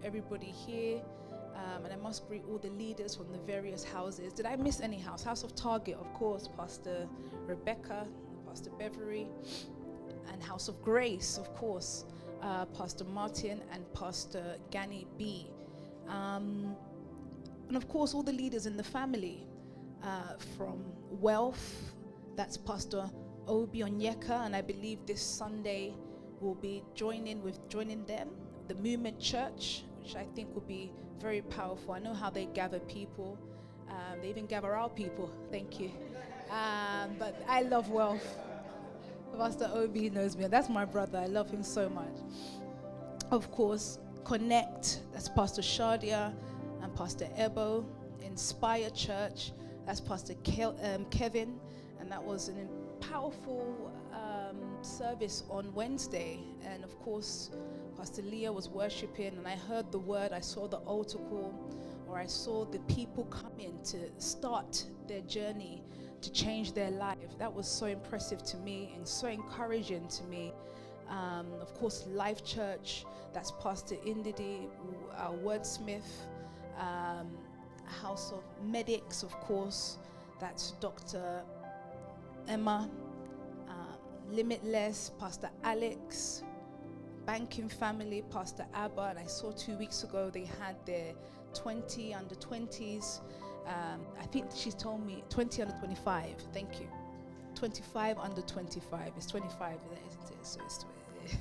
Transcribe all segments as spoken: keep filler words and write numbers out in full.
everybody here. Um, and I must greet all the leaders from the various houses. Did I miss any house? House of Target, of course, Pastor Rebecca, Pastor Beverly, and House of Grace, of course, uh, Pastor Martin and Pastor Gani B. Um, and of course, all the leaders in the family, uh, from Wealth, that's Pastor Obi Onyeka, and I believe this Sunday we'll be joining with joining them, the Movement Church, which I think will be very powerful. I know how they gather people. Um, they even gather our people. Thank you. Um, but I love Wealth. Pastor Obi knows me. That's my brother. I love him so much. Of course, Connect. That's Pastor Shadia and Pastor Ebo. Inspire Church. That's Pastor Ke- um, Kevin. And that was an powerful um, service on Wednesday. And of course, Pastor Leah was worshiping, and I heard the word. I saw the altar call, or I saw the people come in to start their journey to change their life. That was so impressive to me and so encouraging to me. Um, of course, Life Church, that's Pastor Indidi, our wordsmith. Um, House of Medics, of course, that's Doctor Emma. Um, Limitless, Pastor Alex. Banking Family, Pastor Abba, and I saw two weeks ago they had their twenty under twenties. Um, I think she told me twenty under twenty-five. Thank you. twenty-five under twenty-five. It's twenty-five, isn't it? So it's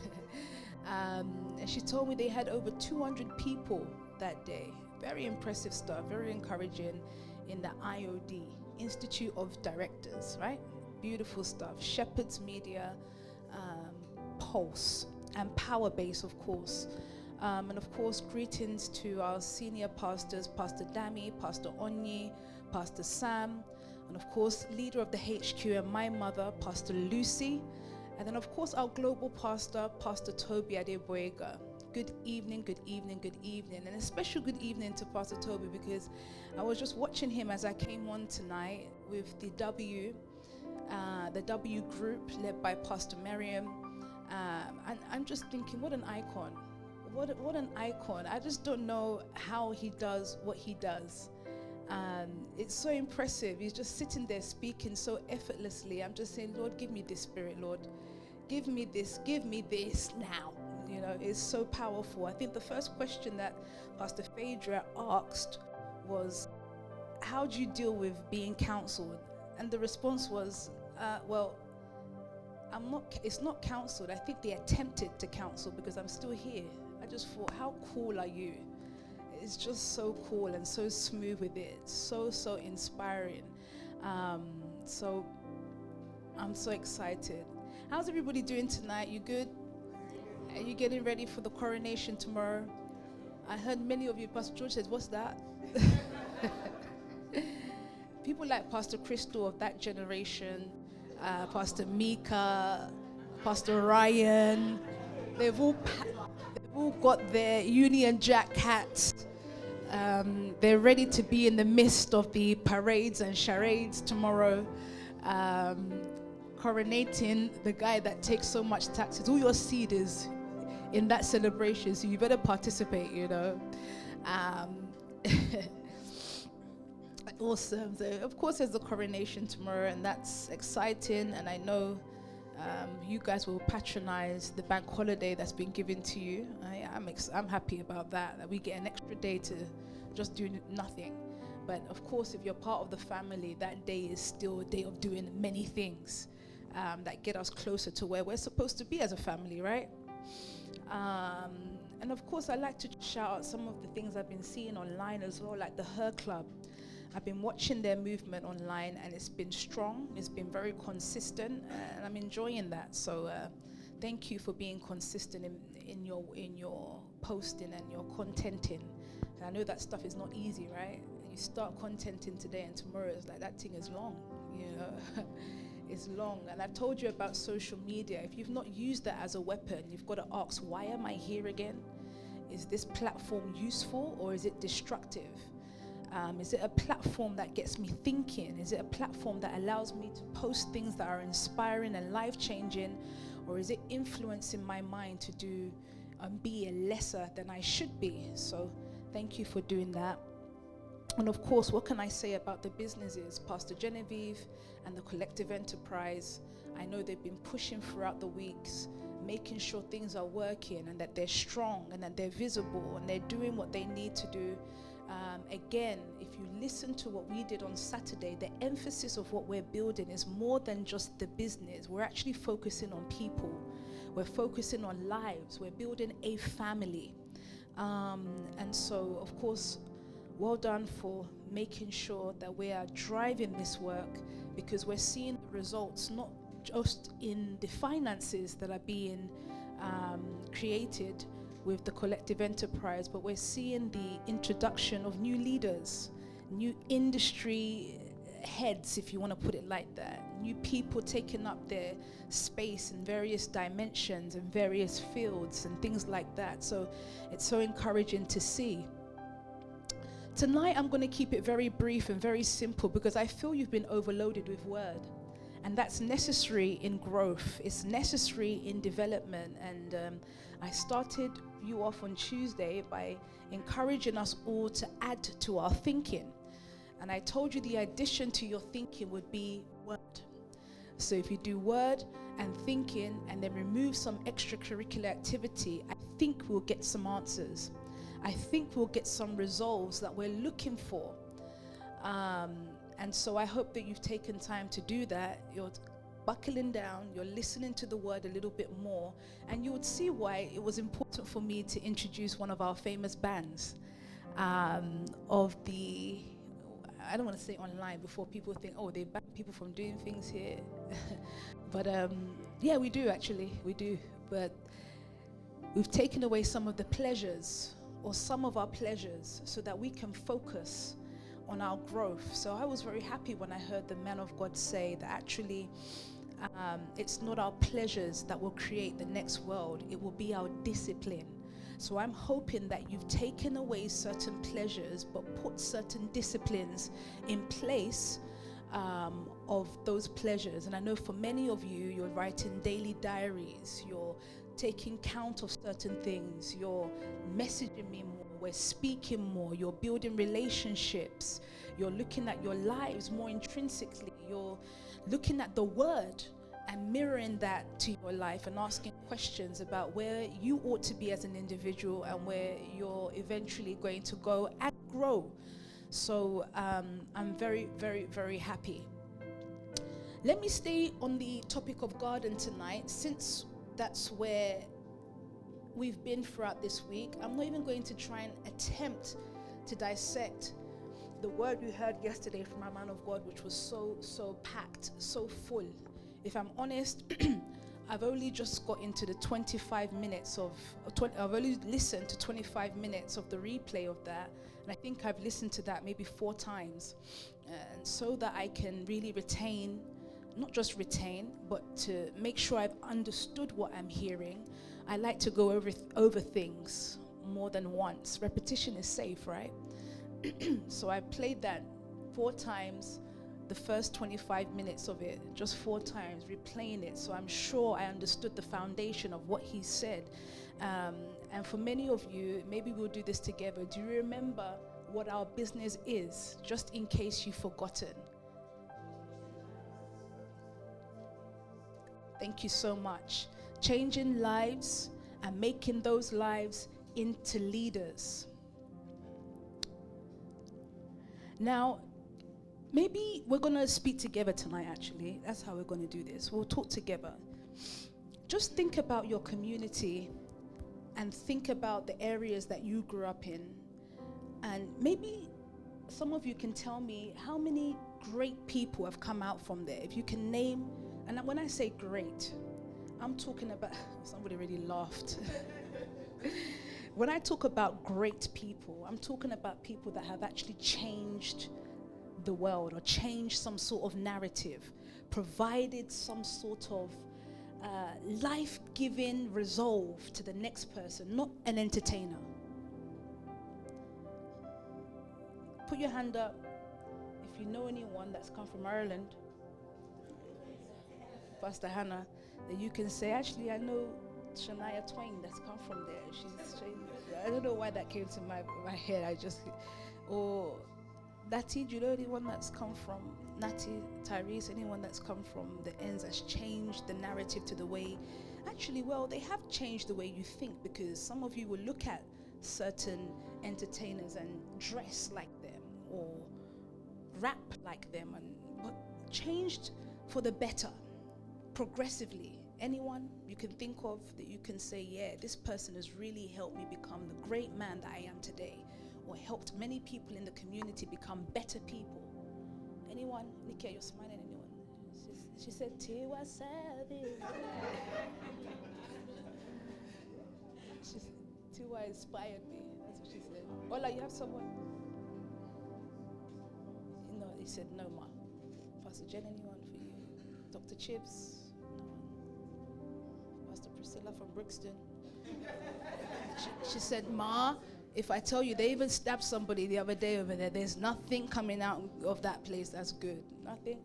um, and she told me they had over two hundred people that day. Very impressive stuff. Very encouraging in the I O D, Institute of Directors, right? Beautiful stuff. Shepherd's Media, um, Pulse. And Power Base, of course. Um, and of course, greetings to our senior pastors, Pastor Dami, Pastor Onyi, Pastor Sam, and of course, leader of the H Q and my mother, Pastor Lucy. And then of course, our global pastor, Pastor Toby Adeboyega. Good evening, good evening, good evening. And a special good evening to Pastor Toby, because I was just watching him as I came on tonight with the W, uh, the W group led by Pastor Miriam. Um, and I'm just thinking, what an icon. What, what an icon. I just don't know how he does what he does. Um, it's so impressive. He's just sitting there speaking so effortlessly. I'm just saying, Lord, give me this spirit, Lord. Give me this, give me this now. You know, it's so powerful. I think the first question that Pastor Phaedra asked was, how do you deal with being counseled? And the response was, uh, well, I'm not, it's not counseled. I think they attempted to counsel because I'm still here. I just thought, how cool are you? It's just so cool and so smooth with it. So, so inspiring. Um, so I'm so excited. How's everybody doing tonight? You good? Are you getting ready for the coronation tomorrow? I heard many of you, Pastor George says, what's that? People like Pastor Crystal of that generation, Uh, Pastor Mika, Pastor Ryan, they've all pa- they've all got their Union Jack hats. Um, they're ready to be in the midst of the parades and charades tomorrow, um, coronating the guy that takes so much taxes. All your seed is in that celebration, so you better participate, you know. Um, Awesome. So, of course, there's the coronation tomorrow, and that's exciting. And I know um, you guys will patronize the bank holiday that's been given to you. I, I'm ex- I'm happy about that, that we get an extra day to just do n- nothing. But, of course, if you're part of the family, that day is still a day of doing many things um, that get us closer to where we're supposed to be as a family, right? Um, and, of course, I like to shout out some of the things I've been seeing online as well, like the Her Club. I've been watching their movement online, and it's been strong. It's been very consistent, and I'm enjoying that. So uh, thank you for being consistent in, in your in your posting and your contenting. And I know that stuff is not easy, right? You start contenting today, and tomorrow it's like that thing is long, you know. It's long. And I've told you about social media. If you've not used that as a weapon, you've got to ask, why am I here again? Is this platform useful or is it destructive? Um, is it a platform that gets me thinking? Is it a platform that allows me to post things that are inspiring and life-changing? Or is it influencing my mind to do and be lesser than I should be. So thank you for doing that. And of course, what can I say about the businesses? Pastor Genevieve and the Collective Enterprise, I know they've been pushing throughout the weeks, making sure things are working and that they're strong and that they're visible and they're doing what they need to do. Um, again, if you listen to what we did on Saturday, the emphasis of what we're building is more than just the business. We're actually focusing on people. We're focusing on lives. We're building a family. Um, and so, of course, well done for making sure that we are driving this work, because we're seeing the results not just in the finances that are being um, created with the Collective Enterprise, but we're seeing the introduction of new leaders, new industry heads, if you want to put it like that, new people taking up their space in various dimensions and various fields and things like that. So it's so encouraging to see. Tonight, I'm going to keep it very brief and very simple, because I feel you've been overloaded with word. And that's necessary in growth. It's necessary in development. And um, I started you off on Tuesday by encouraging us all to add to our thinking. And I told you the addition to your thinking would be word. So if you do word and thinking and then remove some extracurricular activity, I think we'll get some answers. I think we'll get some resolves that we're looking for. Um, and so I hope that you've taken time to do that. You're buckling down, you're listening to the word a little bit more, and you would see why it was important for me to introduce one of our famous bands um, of the, I don't want to say online before people think, oh, they ban people from doing things here. But um, yeah, we do actually, we do. But we've taken away some of the pleasures or some of our pleasures so that we can focus on our growth. So I was very happy when I heard the man of God say that actually um, it's not our pleasures that will create the next world, it will be our discipline. So I'm hoping that you've taken away certain pleasures but put certain disciplines in place um, of those pleasures. And I know for many of you, you're writing daily diaries, you're taking count of certain things, you're messaging me more, we're speaking more, you're building relationships, you're looking at your lives more intrinsically, you're looking at the word and mirroring that to your life and asking questions about where you ought to be as an individual and where you're eventually going to go and grow. So um, I'm very, very, very happy. Let me stay on the topic of garden tonight, since that's where we've been throughout this week. I'm not even going to try and attempt to dissect the word we heard yesterday from our man of God, which was so, so packed, so full. If I'm honest, I've only just got into the twenty-five minutes of, I've only listened to twenty-five minutes of the replay of that. And I think I've listened to that maybe four times. And so that I can really retain, not just retain, but to make sure I've understood what I'm hearing. I like to go over th- over things more than once. Repetition is safe, right? So I played that four times, the first twenty-five minutes of it, just four times, replaying it. So I'm sure I understood the foundation of what he said. Um, and for many of you, maybe we'll do this together. Do you remember what our business is, just in case you've forgotten? Thank you so much. Changing lives and making those lives into leaders. Now, maybe we're going to speak together tonight, actually. That's how we're going to do this. We'll talk together. Just think about your community and think about the areas that you grew up in. And maybe some of you can tell me how many great people have come out from there. If you can name, and when I say great, I'm talking about, somebody really laughed. When I talk about great people, I'm talking about people that have actually changed the world or changed some sort of narrative, provided some sort of uh, life-giving resolve to the next person, not an entertainer. Put your hand up if you know anyone that's come from Ireland, Pastor Hannah, that you can say, actually, I know Shania Twain that's come from there. She's, she, I don't know why that came to my, my head. I just, or Natty, do you know anyone that's come from, Natty, Tyrese, anyone that's come from the ends has changed the narrative to the way, actually, well, they have changed the way you think, because some of you will look at certain entertainers and dress like them or rap like them, and but changed for the better, progressively. Anyone you can think of that you can say, yeah, this person has really helped me become the great man that I am today, or helped many people in the community become better people? Anyone? Nikia, you're smiling. Anyone? She's, she said, Tiwa Savage. She's, Tiwa inspired me. That's what she said. Ola, you have someone? No, he said, no, ma. Pastor Jen, anyone for you? Doctor Chips? No one. Pastor Priscilla from Brixton? she, she said, ma, if I tell you they even stabbed somebody the other day over there, there's nothing coming out of that place that's good. Nothing.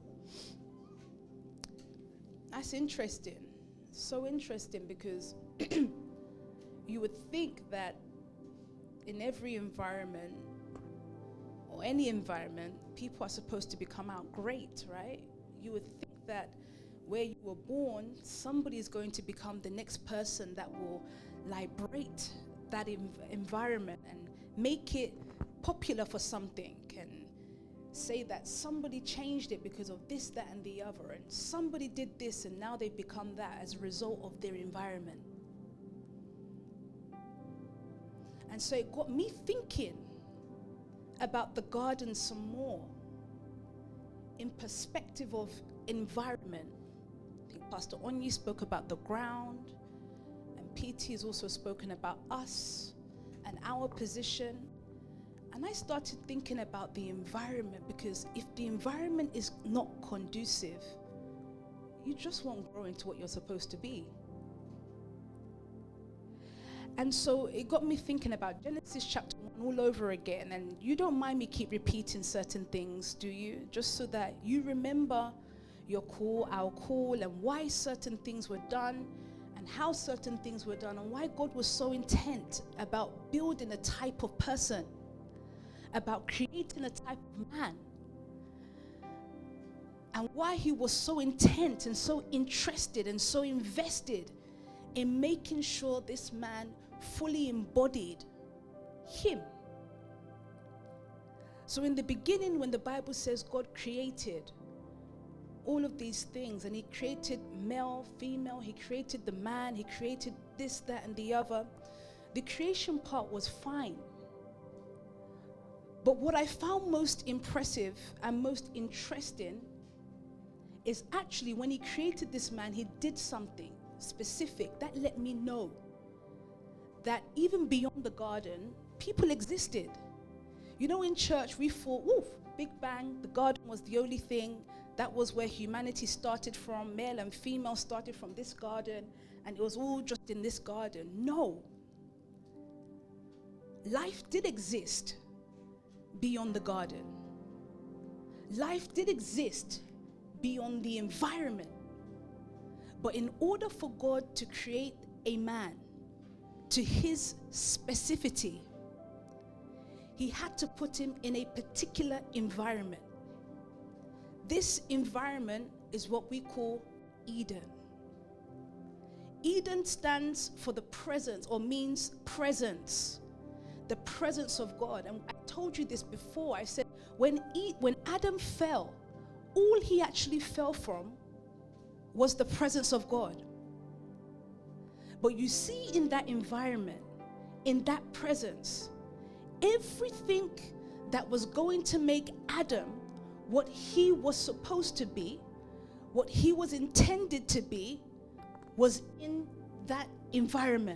That's interesting. So interesting, because you would think that in every environment, or any environment, people are supposed to become out great, right? You would think that where you were born, somebody is going to become the next person that will liberate that env- environment and make it popular for something, and say that somebody changed it because of this, that, and the other, and somebody did this and now they've become that as a result of their environment. And so it got me thinking about the garden some more in perspective of environment. I think Pastor Onyi spoke about the ground, and P T has also spoken about us and our position. And I started thinking about the environment, because if the environment is not conducive, you just won't grow into what you're supposed to be. And so it got me thinking about Genesis chapter one all over again. And you don't mind me keep repeating certain things, do you? Just so that you remember your call, our call, and why certain things were done, and how certain things were done, and why God was so intent about building a type of person, about creating a type of man, and why he was so intent and so interested and so invested in making sure this man fully embodied him. So in the beginning, when the Bible says God created all of these things, and he created male, female, he created the man, he created this, that, and the other, the creation part was fine. But what I found most impressive and most interesting is actually when he created this man, he did something specific that let me know that even beyond the garden, people existed. You know, in church, we thought, woof, Big Bang, the garden was the only thing. That was where humanity started from. Male and female started from this garden, and it was all just in this garden. No. Life did exist beyond the garden. Life did exist beyond the environment. But in order for God to create a man to his specificity, he had to put him in a particular environment. This environment is what we call Eden. Eden stands for the presence, or means presence. The presence of God. And I told you this before. I said when e- when Adam fell, all he actually fell from was the presence of God. But you see, in that environment, in that presence, everything that was going to make Adam what he was supposed to be, what he was intended to be, was in that environment.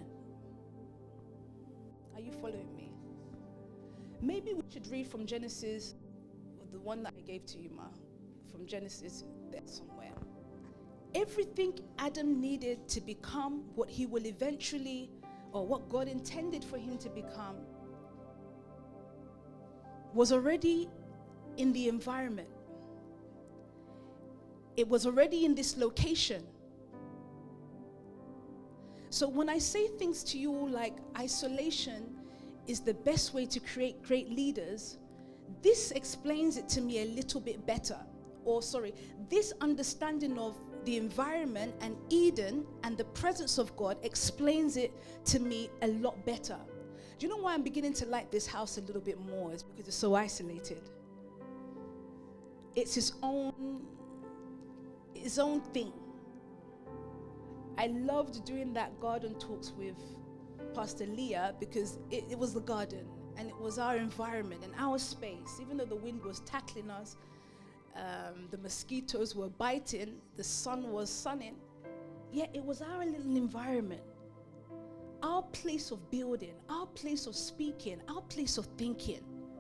Are you following me? Maybe we should read from Genesis, the one that I gave to you, Ma, from Genesis there somewhere. Everything Adam needed to become what he will eventually, or what God intended for him to become, was already in the environment. It was already in this location. So when I say things to you like isolation is the best way to create great leaders, this explains it to me a little bit better. Or sorry, this understanding of the environment and Eden and the presence of God explains it to me a lot better. Do you know why I'm beginning to like this house a little bit more? It's because it's so isolated. It's its own, its own thing. I loved doing that garden talks with Pastor Leah because it, it was the garden and it was our environment and our space. Even though the wind was tackling us, um, the mosquitoes were biting, the sun was sunning, yet it was our little environment, our place of building, our place of speaking, our place of thinking.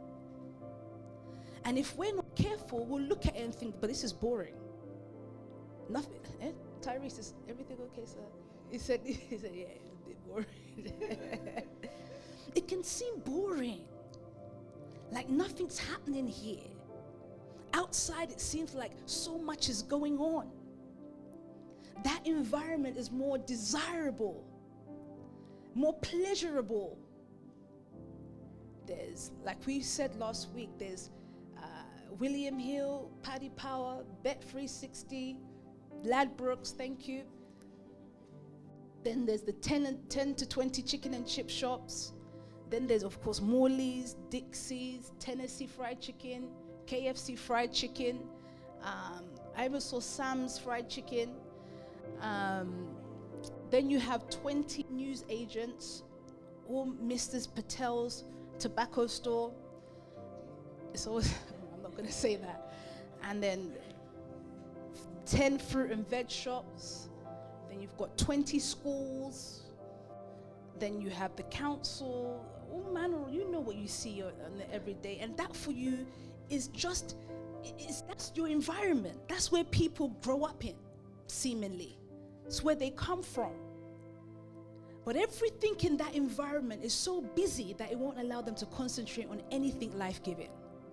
And if we're not careful, we'll look at it and think, but this is boring. Nothing. Eh? Tyrese, is everything okay, sir? He said, he said, yeah, it's a bit boring. It can seem boring. Like nothing's happening here. Outside, it seems like so much is going on. That environment is more desirable, more pleasurable. There's, like we said last week, there's uh, William Hill, Paddy Power, Bet three sixty, Ladbrokes, thank you. Then there's the ten, and ten to twenty chicken and chip shops. Then there's, of course, Morley's, Dixie's, Tennessee Fried Chicken, K F C Fried Chicken. Um, I even saw Sam's Fried Chicken. Um, then you have twenty news agents, all Missus Patel's tobacco store. It's always, I'm not going to say that. And then ten fruit and veg shops. Then you've got twenty schools. Then you have the council. Oh man, you know what you see on the everyday. And that for you is just, it's, that's your environment. That's where people grow up in, seemingly. It's where they come from. But everything in that environment is so busy that it won't allow them to concentrate on anything life-giving.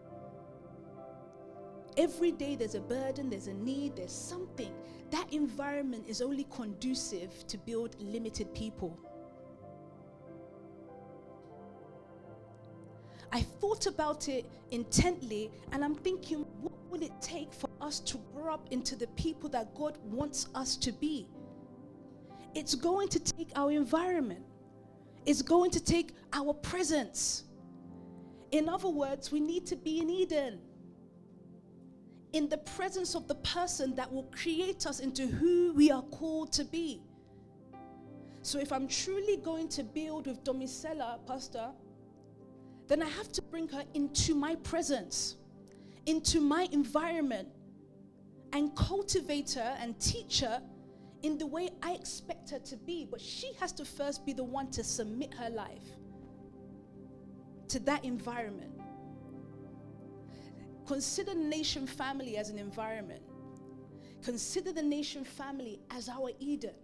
Every day there's a burden, there's a need, there's something. That environment is only conducive to build limited people. I thought about it intently, and I'm thinking, what will it take for us to grow up into the people that God wants us to be? It's going to take our environment. It's going to take our presence. In other words, we need to be in Eden, in the presence of the person that will create us into who we are called to be. So if I'm truly going to build with Domisela, Pastor, then I have to bring her into my presence, into my environment, and cultivate her and teach her in the way I expect her to be. But she has to first be the one to submit her life to that environment. Consider the nation family as an environment. Consider the nation family as our Eden.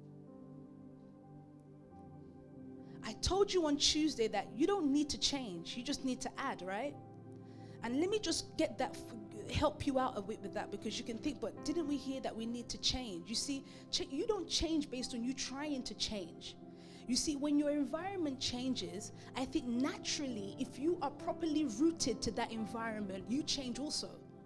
I told you on Tuesday that you don't need to change, you just need to add, right? And let me just get that, help you out a bit with that, because you can think, but didn't we hear that we need to change? You see, ch- you don't change based on you trying to change. You see, when your environment changes, I think naturally, if you are properly rooted to that environment, you change also.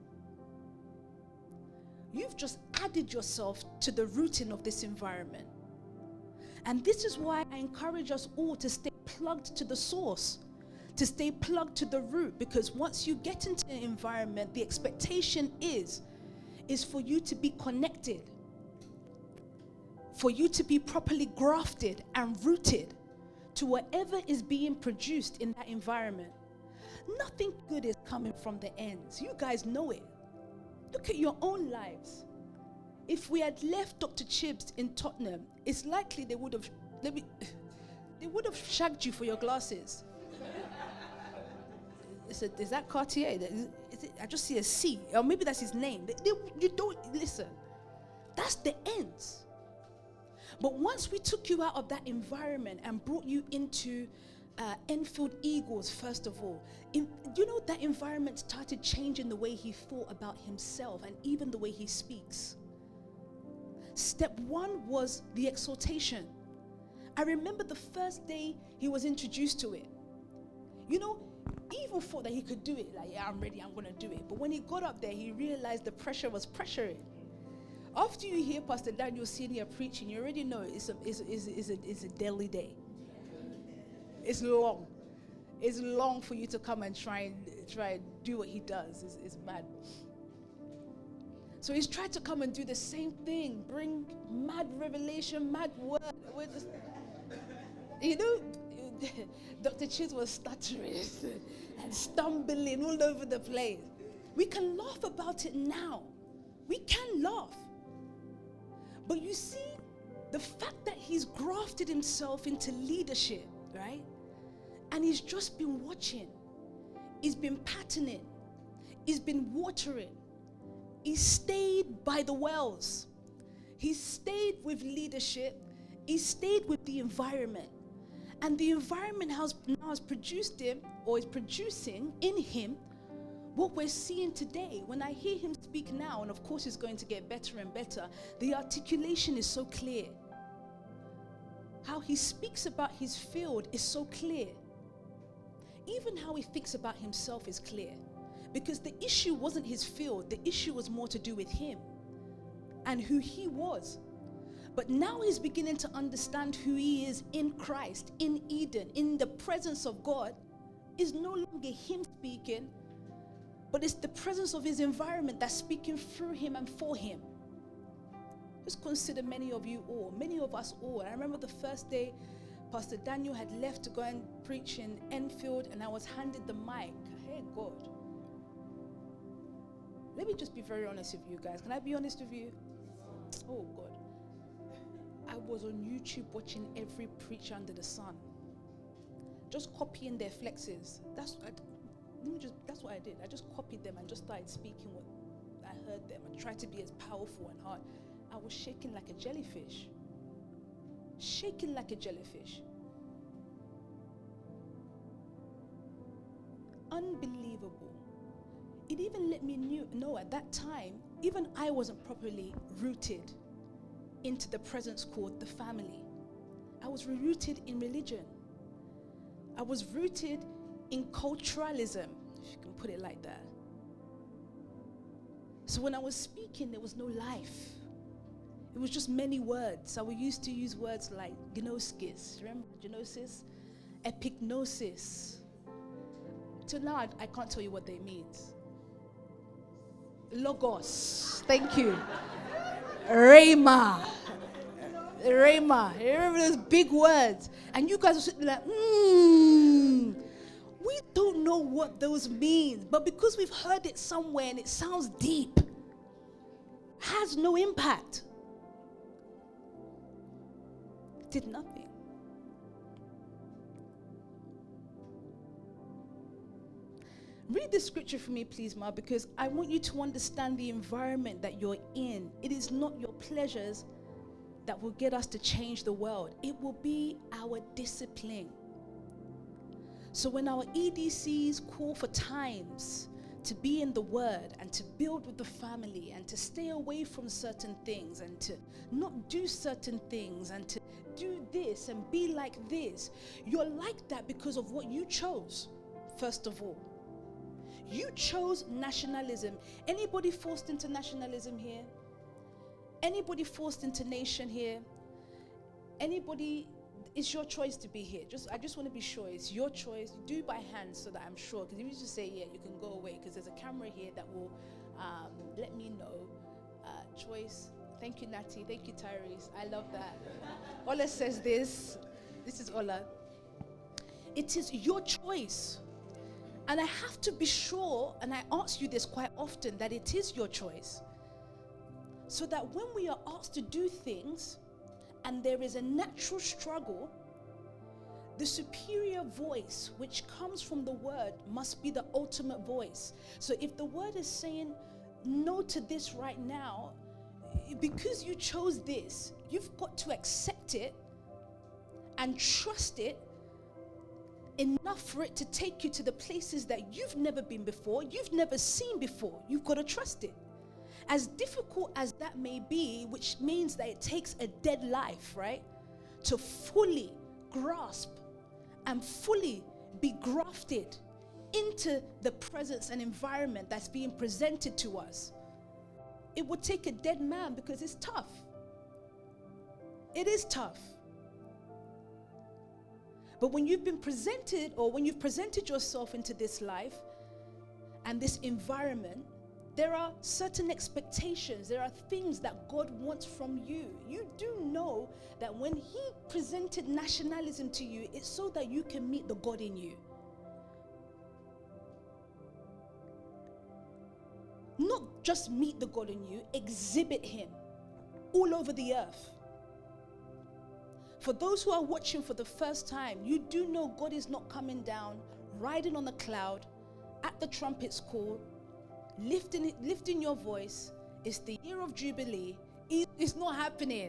You've just added yourself to the rooting of this environment. And this is why I encourage us all to stay plugged to the source, to stay plugged to the root, because once you get into an environment, the expectation is, is for you to be connected, for you to be properly grafted and rooted to whatever is being produced in that environment. Nothing good is coming from the ends. You guys know it. Look at your own lives. If we had left Doctor Chibbs in Tottenham, it's likely they would have, let me, they would have shagged you for your glasses. Is, it, is that Cartier? Is, is it, I just see a C, or maybe that's his name. They, they, you don't, listen, that's the ends. But once we took you out of that environment and brought you into uh, Enfield Eagles, first of all, in, you know, that environment started changing the way he thought about himself and even the way he speaks. Step one was the exhortation. I remember the first day he was introduced to it. You know, he even thought that he could do it. Like, yeah, I'm ready, I'm going to do it. But when he got up there, he realized the pressure was pressuring. After you hear Pastor Daniel Senior preaching, you already know it's a, it's, it's, it's, a, it's a daily day. It's long. It's long for you to come and try and try and do what he does. It's, it's mad. So he's tried to come and do the same thing, bring mad revelation, mad word. You know, Doctor Chiz was stuttering and stumbling all over the place. We can laugh about it now. We can laugh. But you see, the fact that he's grafted himself into leadership, right? And he's just been watching. He's been patterning. He's been watering. He stayed by the wells. He stayed with leadership. He stayed with the environment. And the environment has now has produced him, or is producing in him, what we're seeing today. When I hear him speak now, and of course it's going to get better and better, the articulation is so clear. How he speaks about his field is so clear. Even how he thinks about himself is clear. Because the issue wasn't his field, the issue was more to do with him and who he was. But now he's beginning to understand who he is in Christ, in Eden, in the presence of God. It's no longer him speaking, but it's the presence of his environment that's speaking through him and for him. Just consider many of you all, many of us all. I remember the first day Pastor Daniel had left to go and preach in Enfield, and I was handed the mic. Hey, God. Let me just be very honest with you guys. Can I be honest with you? Oh, God. I was on YouTube watching every preacher under the sun, just copying their flexes. That's I, let me just. That's what I did. I just copied them and just started speaking what I heard them and tried to be as powerful and hard. I was shaking like a jellyfish. Shaking like a jellyfish. Unbelievable. It even let me knew, know at that time, even I wasn't properly rooted into the presence called the family. I was rooted in religion. I was rooted in culturalism, if you can put it like that. So when I was speaking, there was no life. It was just many words. I we used to use words like gnosis. Remember gnosis? Epignosis. Till now, I, I can't tell you what they mean. Logos. Thank you. Rhema. Rhema. You remember those big words? And you guys were sitting like, hmm. We don't know what those mean. But because we've heard it somewhere and it sounds deep, has no impact. Did nothing. Read the scripture for me, please, Ma, because I want you to understand the environment that you're in. It is not your pleasures that will get us to change the world. It will be our discipline. So when our E D Cs call for times to be in the Word and to build with the family and to stay away from certain things and to not do certain things and to do this and be like this, you're like that because of what you chose, first of all. You chose nationalism. Anybody forced into nationalism here? Anybody forced into nation here? Anybody, it's your choice to be here. Just, I just want to be sure it's your choice. Do it by hand so that I'm sure. Because if you just say, yeah, you can go away, because there's a camera here that will um, let me know. Uh, choice. Thank you, Natty. Thank you, Tyrese. I love that. Ola says this. This is Ola. It is your choice. And I have to be sure, and I ask you this quite often, that it is your choice. So that when we are asked to do things, and there is a natural struggle, the superior voice, which comes from the word, must be the ultimate voice. So if the word is saying no to this right now, because you chose this, you've got to accept it and trust it enough for it to take you to the places that you've never been before, you've never seen before. You've got to trust it. As difficult as that may be, which means that it takes a dead life, right? to fully grasp and fully be grafted into the presence and environment that's being presented to us. It would take a dead man because it's tough. It is tough. But when you've been presented, or when you've presented yourself into this life and this environment, there are certain expectations. There are things that God wants from you. You do know that when he presented nationalism to you, it's so that you can meet the God in you. Not just meet the God in you, exhibit him all over the earth. For those who are watching for the first time, you do know God is not coming down, riding on a cloud, at the trumpet's call, lifting, lifting your voice. It's the year of Jubilee. It's not happening.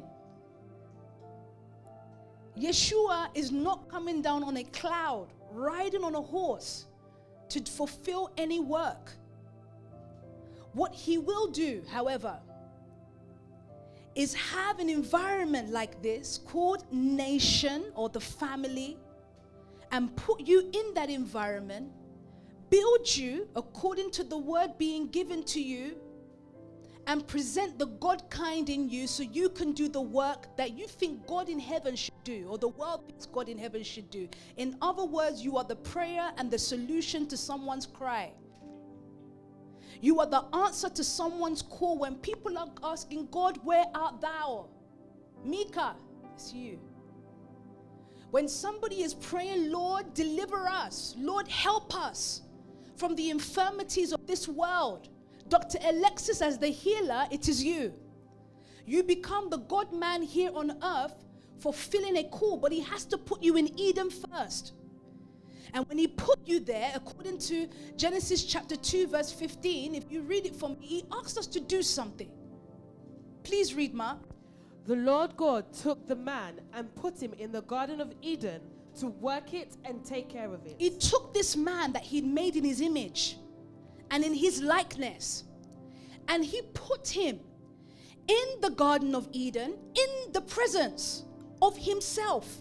Yeshua is not coming down on a cloud, riding on a horse to fulfill any work. What he will do, however, is have an environment like this called nation or the family, and put you in that environment, build you according to the word being given to you, and present the God kind in you so you can do the work that you think God in heaven should do, or the world thinks God in heaven should do. In other words, you are the prayer and the solution to someone's cry. You are the answer to someone's call when people are asking, God, where art thou? Mika, it's you. When somebody is praying, Lord, deliver us. Lord, help us from the infirmities of this world. Doctor Alexis, as the healer, it is you. You become the God man here on earth, fulfilling a call, but he has to put you in Eden first. And when he put you there, according to Genesis chapter two, verse fifteen, if you read it for me, he asked us to do something. Please read, Ma. The Lord God took the man and put him in the Garden of Eden to work it and take care of it. He took this man that he'd made in his image and in his likeness, and he put him in the Garden of Eden in the presence of himself,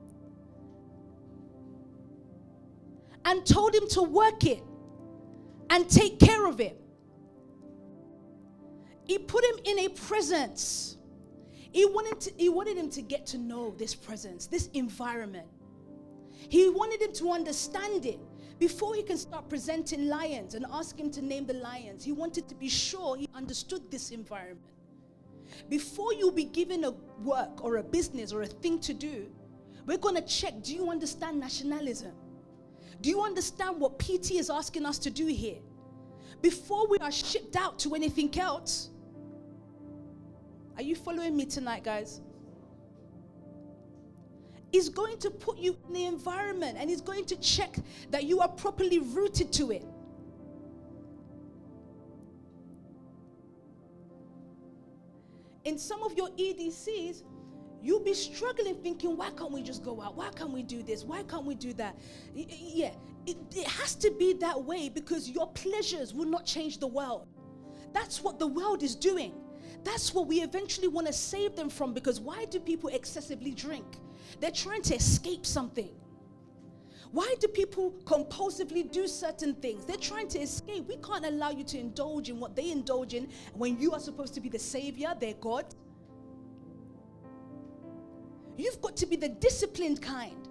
and told him to work it and take care of it. He put him in a presence. He wanted to, he wanted him to get to know this presence, this environment. He wanted him to understand it before he can start presenting lions and ask him to name the lions. He wanted to be sure he understood this environment. Before you be given a work or a business or a thing to do, we're going to check, do you understand nationalism? Do you understand what P T is asking us to do here? Before we are shipped out to anything else. Are you following me tonight, guys? He's going to put you in the environment, and he's going to check that you are properly rooted to it. In some of your E D Cs, you'll be struggling thinking, why can't we just go out? Why can't we do this? Why can't we do that? Yeah, it, it has to be that way because your pleasures will not change the world. That's what the world is doing. That's what we eventually want to save them from, because why do people excessively drink? They're trying to escape something. Why do people compulsively do certain things? They're trying to escape. We can't allow you to indulge in what they indulge in when you are supposed to be the savior, their God. You've got to be the disciplined kind.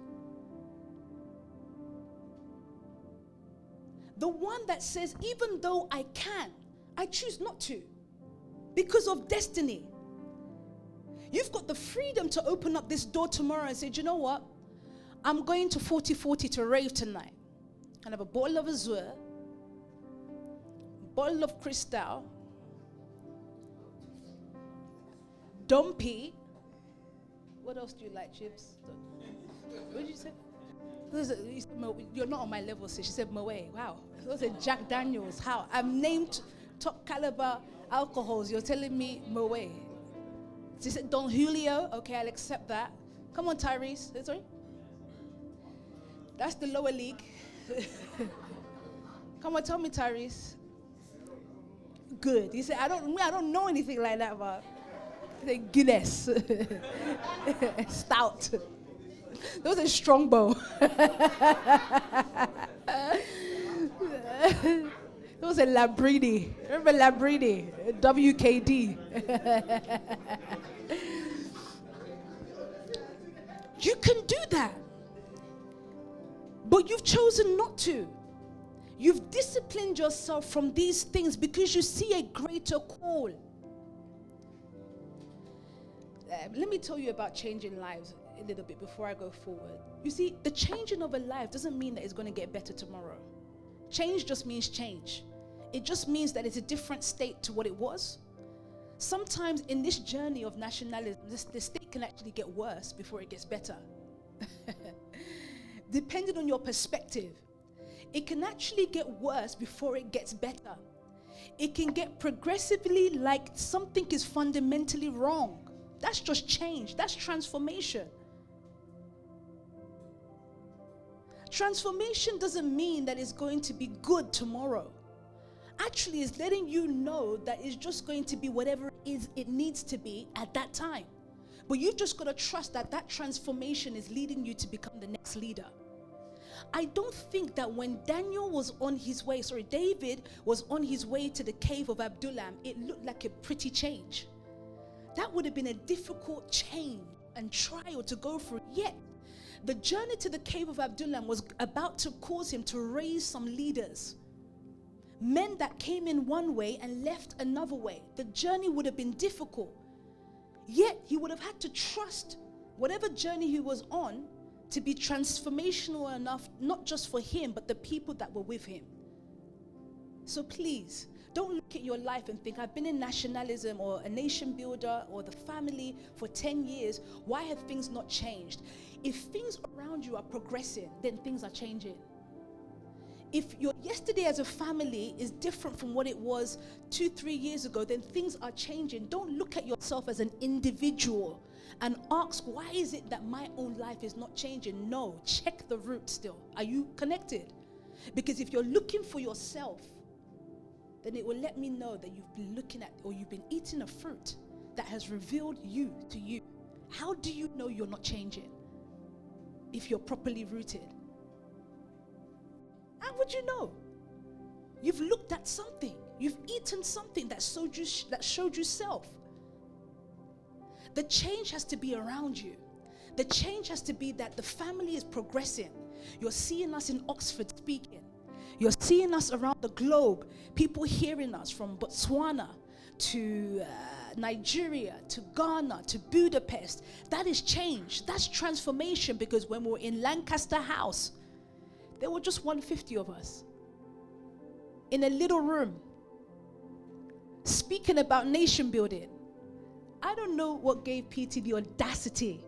The one that says, even though I can, I choose not to because of destiny. You've got the freedom to open up this door tomorrow and say, do you know what? I'm going to forty forty to rave tonight. And have a bottle of Azure, bottle of Cristal, Dumpy. What else do you like, chips? What did you say? You're not on my level, so she said Moet. Wow. Those are Jack Daniels. How? I've named top caliber alcohols. You're telling me Moet. She said Don Julio. Okay, I'll accept that. Come on, Tyrese. Sorry? That's the lower league. Come on, tell me, Tyrese. Good. He said, I don't I don't know anything like that, but Guinness. Stout. That was a strongbow. It was a Labrini. Remember Labrini? W K D. You can do that. But you've chosen not to. You've disciplined yourself from these things because you see a greater call. Uh, let me tell you about changing lives a little bit before I go forward. You see, the changing of a life doesn't mean that it's going to get better tomorrow. Change just means change. It just means that it's a different state to what it was. Sometimes in this journey of nationalism, this, the state can actually get worse before it gets better. Depending on your perspective, it can actually get worse before it gets better. It can get progressively like something is fundamentally wrong. That's just change. That's transformation. Transformation doesn't mean that it's going to be good tomorrow. Actually, it's letting you know that it's just going to be whatever it is it needs to be at that time. But you've just got to trust that that transformation is leading you to become the next leader. I don't think that when Daniel was on his way, sorry, David was on his way to the cave of Adullam, it looked like a pretty change. That would have been a difficult change and trial to go through. Yet, the journey to the cave of Adullam was about to cause him to raise some leaders. Men that came in one way and left another way. The journey would have been difficult. Yet, he would have had to trust whatever journey he was on to be transformational enough, not just for him, but the people that were with him. So please, don't look at your life and think, I've been in nationalism or a nation builder or the family for ten years. Why have things not changed? If things around you are progressing, then things are changing. If your yesterday as a family is different from what it was two, three years ago, then things are changing. Don't look at yourself as an individual and ask, why is it that my own life is not changing? No, check the root still. Are you connected? Because if you're looking for yourself, then it will let me know that you've been looking at or you've been eating a fruit that has revealed you to you. How do you know you're not changing if you're properly rooted? How would you know? You've looked at something. You've eaten something that showed you, that showed you self. The change has to be around you. The change has to be that the family is progressing. You're seeing us in Oxford speaking. You're seeing us around the globe. People hearing us from Botswana to uh, Nigeria to Ghana to Budapest. That is change. That's transformation, because when we were in Lancaster House, there were just one hundred fifty of us in a little room speaking about nation building. I don't know what gave P T the audacity,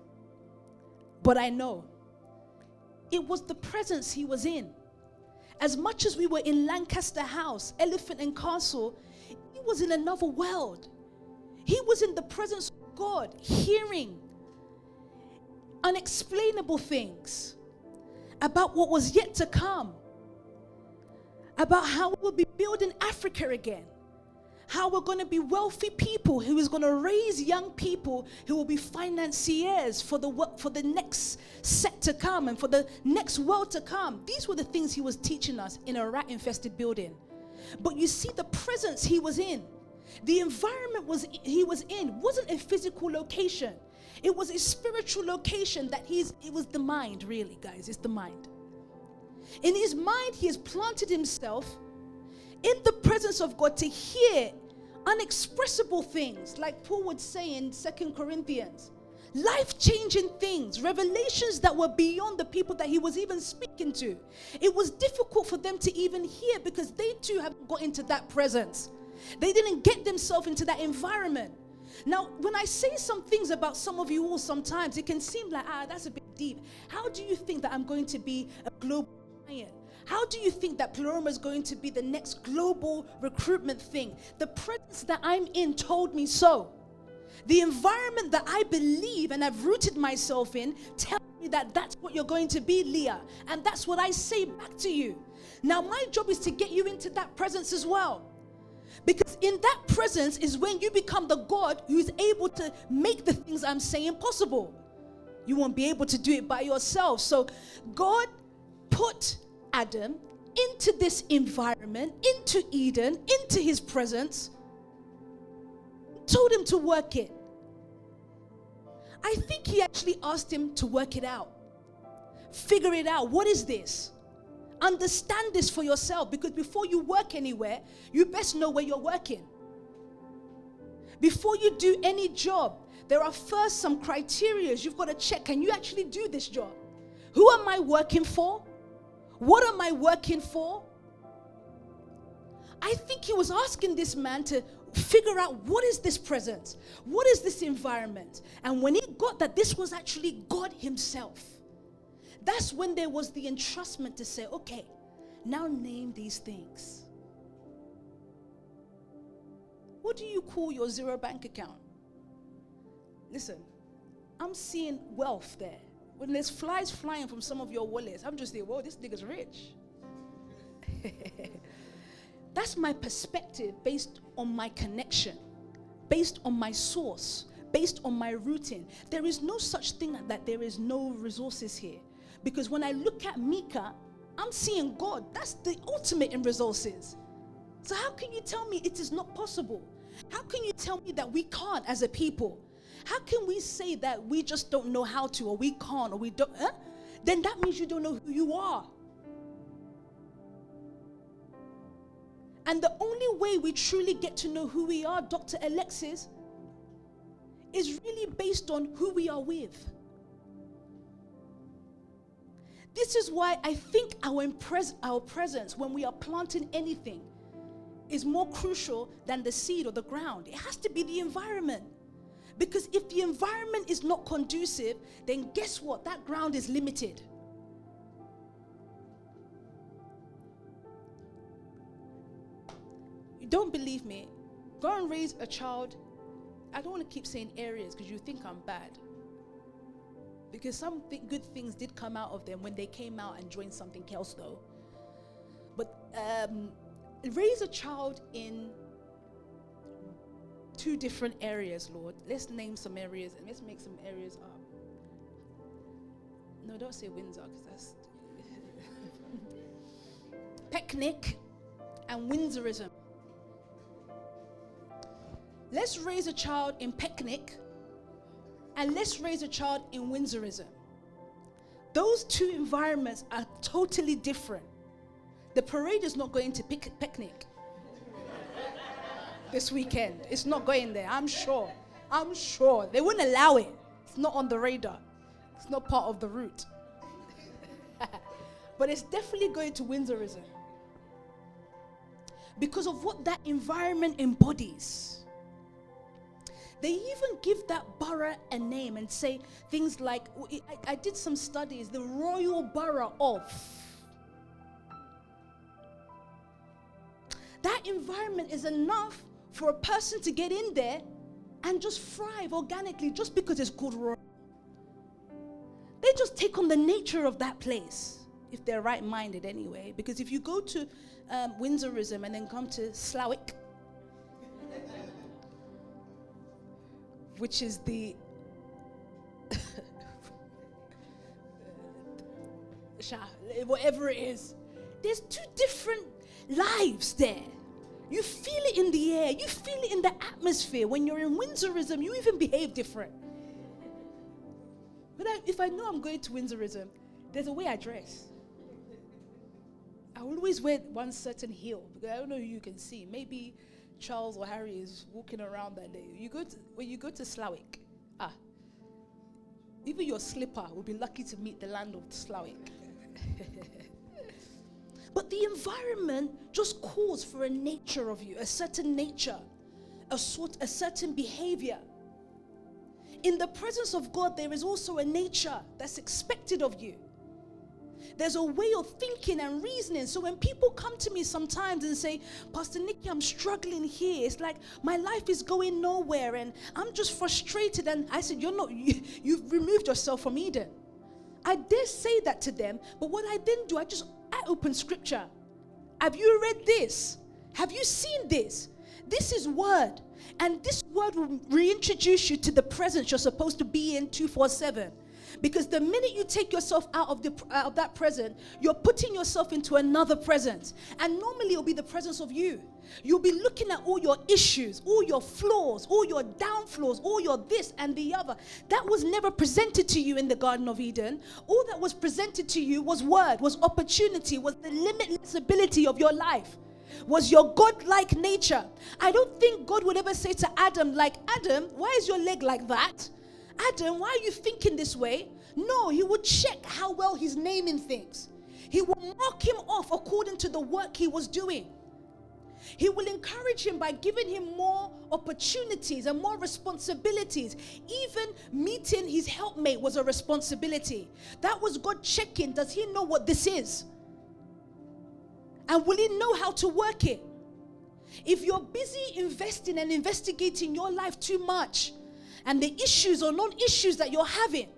but I know it was the presence he was in. As much as we were in Lancaster House, Elephant and Castle, he was in another world. He was in the presence of God, hearing unexplainable things about what was yet to come, about how we'll be building Africa again, how we're going to be wealthy people who is going to raise young people who will be financiers for the for the next set to come and for the next world to come. These were the things he was teaching us in a rat-infested building. But you see, the presence he was in, the environment was he was in wasn't a physical location. It was a spiritual location that he's, it was the mind, really, guys. It's the mind. In his mind, he has planted himself in the presence of God to hear unexpressible things, like Paul would say in Second Corinthians. Life-changing things, revelations that were beyond the people that he was even speaking to. It was difficult for them to even hear because they too haven't got into that presence. They didn't get themselves into that environment. Now, when I say some things about some of you all sometimes, it can seem like, ah, that's a bit deep. How do you think that I'm going to be a global giant? How do you think that Pleroma is going to be the next global recruitment thing? The presence that I'm in told me so. The environment that I believe and have rooted myself in tells me that that's what you're going to be, Leah. And that's what I say back to you. Now, my job is to get you into that presence as well. Because in that presence is when you become the God who is able to make the things I'm saying possible. You won't be able to do it by yourself. So God put Adam into this environment, into Eden, into his presence, told him to work it. I think he actually asked him to work it out. Figure it out. What is this? Understand this for yourself, because before you work anywhere, you best know where you're working. Before you do any job, there are first some criteria you've got to check. Can you actually do this job? Who am I working for? What am I working for? I think he was asking this man to figure out, what is this presence? What is this environment? And when he got that this was actually God himself, that's when there was the entrustment to say, okay, now name these things. What do you call your zero bank account? Listen, I'm seeing wealth there. When there's flies flying from some of your wallets, I'm just thinking, whoa, this nigga's rich. That's my perspective based on my connection, based on my source, based on my rooting. There is no such thing that there is no resources here. Because when I look at Mika, I'm seeing God. That's the ultimate in resources. So how can you tell me it is not possible? How can you tell me that we can't as a people? How can we say that we just don't know how to, or we can't, or we don't? Huh? Then that means you don't know who you are. And the only way we truly get to know who we are, Doctor Alexis, is really based on who we are with. This is why I think our, impres- our presence when we are planting anything is more crucial than the seed or the ground. It has to be the environment. Because if the environment is not conducive, then guess what? That ground is limited. You don't believe me? Go and raise a child. I don't want to keep saying areas because you think I'm bad. Because some th- good things did come out of them when they came out and joined something else though. But um, raise a child in two different areas, Lord. Let's name some areas and let's make some areas up. No, don't say Windsor because that's... Picnic and Windsorism. Let's raise a child in Picnic and let's raise a child in Windsorism. Those two environments are totally different. The parade is not going to pic- Picnic this weekend. It's not going there, I'm sure. I'm sure. They wouldn't allow it. It's not on the radar. It's not part of the route. But it's definitely going to Windsorism. Because of what that environment embodies. They even give that borough a name and say things like, I, I did some studies, the Royal Borough of. That environment is enough for a person to get in there and just thrive organically just because it's called Royal. They just take on the nature of that place, if they're right-minded anyway. Because if you go to um, Windsorism and then come to Slowick, which is the whatever it is, there's two different lives there. You feel it in the air, you feel it in the atmosphere. When you're in Windsorism, you even behave different. But I, if I know I'm going to Windsorism, there's a way I dress. I will always wear one certain heel because I don't know who you can see. Maybe Charles or Harry is walking around that day. You go to, when you go to Slowick, ah, even your slipper will be lucky to meet the land of Slowick. But the environment just calls for a nature of you, a certain nature, a sort, a certain behavior. In the presence of God, there is also a nature that's expected of you. There's a way of thinking and reasoning. So when people come to me sometimes and say, Pastor Nikki, I'm struggling here. It's like my life is going nowhere and I'm just frustrated. And I said, you're not, you, you've removed yourself from Eden. I did say that to them, but what I didn't do, I just, I opened scripture. Have you read this? Have you seen this? This is word. And this word will reintroduce you to the presence you're supposed to be in two forty-seven. Because the minute you take yourself out of the out of that present, you're putting yourself into another presence. And normally it'll be the presence of you. You'll be looking at all your issues, all your flaws, all your downfalls, all your this and the other. That was never presented to you in the Garden of Eden. All that was presented to you was word, was opportunity, was the limitless ability of your life, was your God-like nature. I don't think God would ever say to Adam, like, Adam, why is your leg like that? Adam, why are you thinking this way? No, he would check how well he's naming things. He will mark him off according to the work he was doing. He will encourage him by giving him more opportunities and more responsibilities. Even meeting his helpmate was a responsibility. That was God checking, does he know what this is? And will he know how to work it? If you're busy investing and investigating your life too much, and the issues or non-issues that you're having,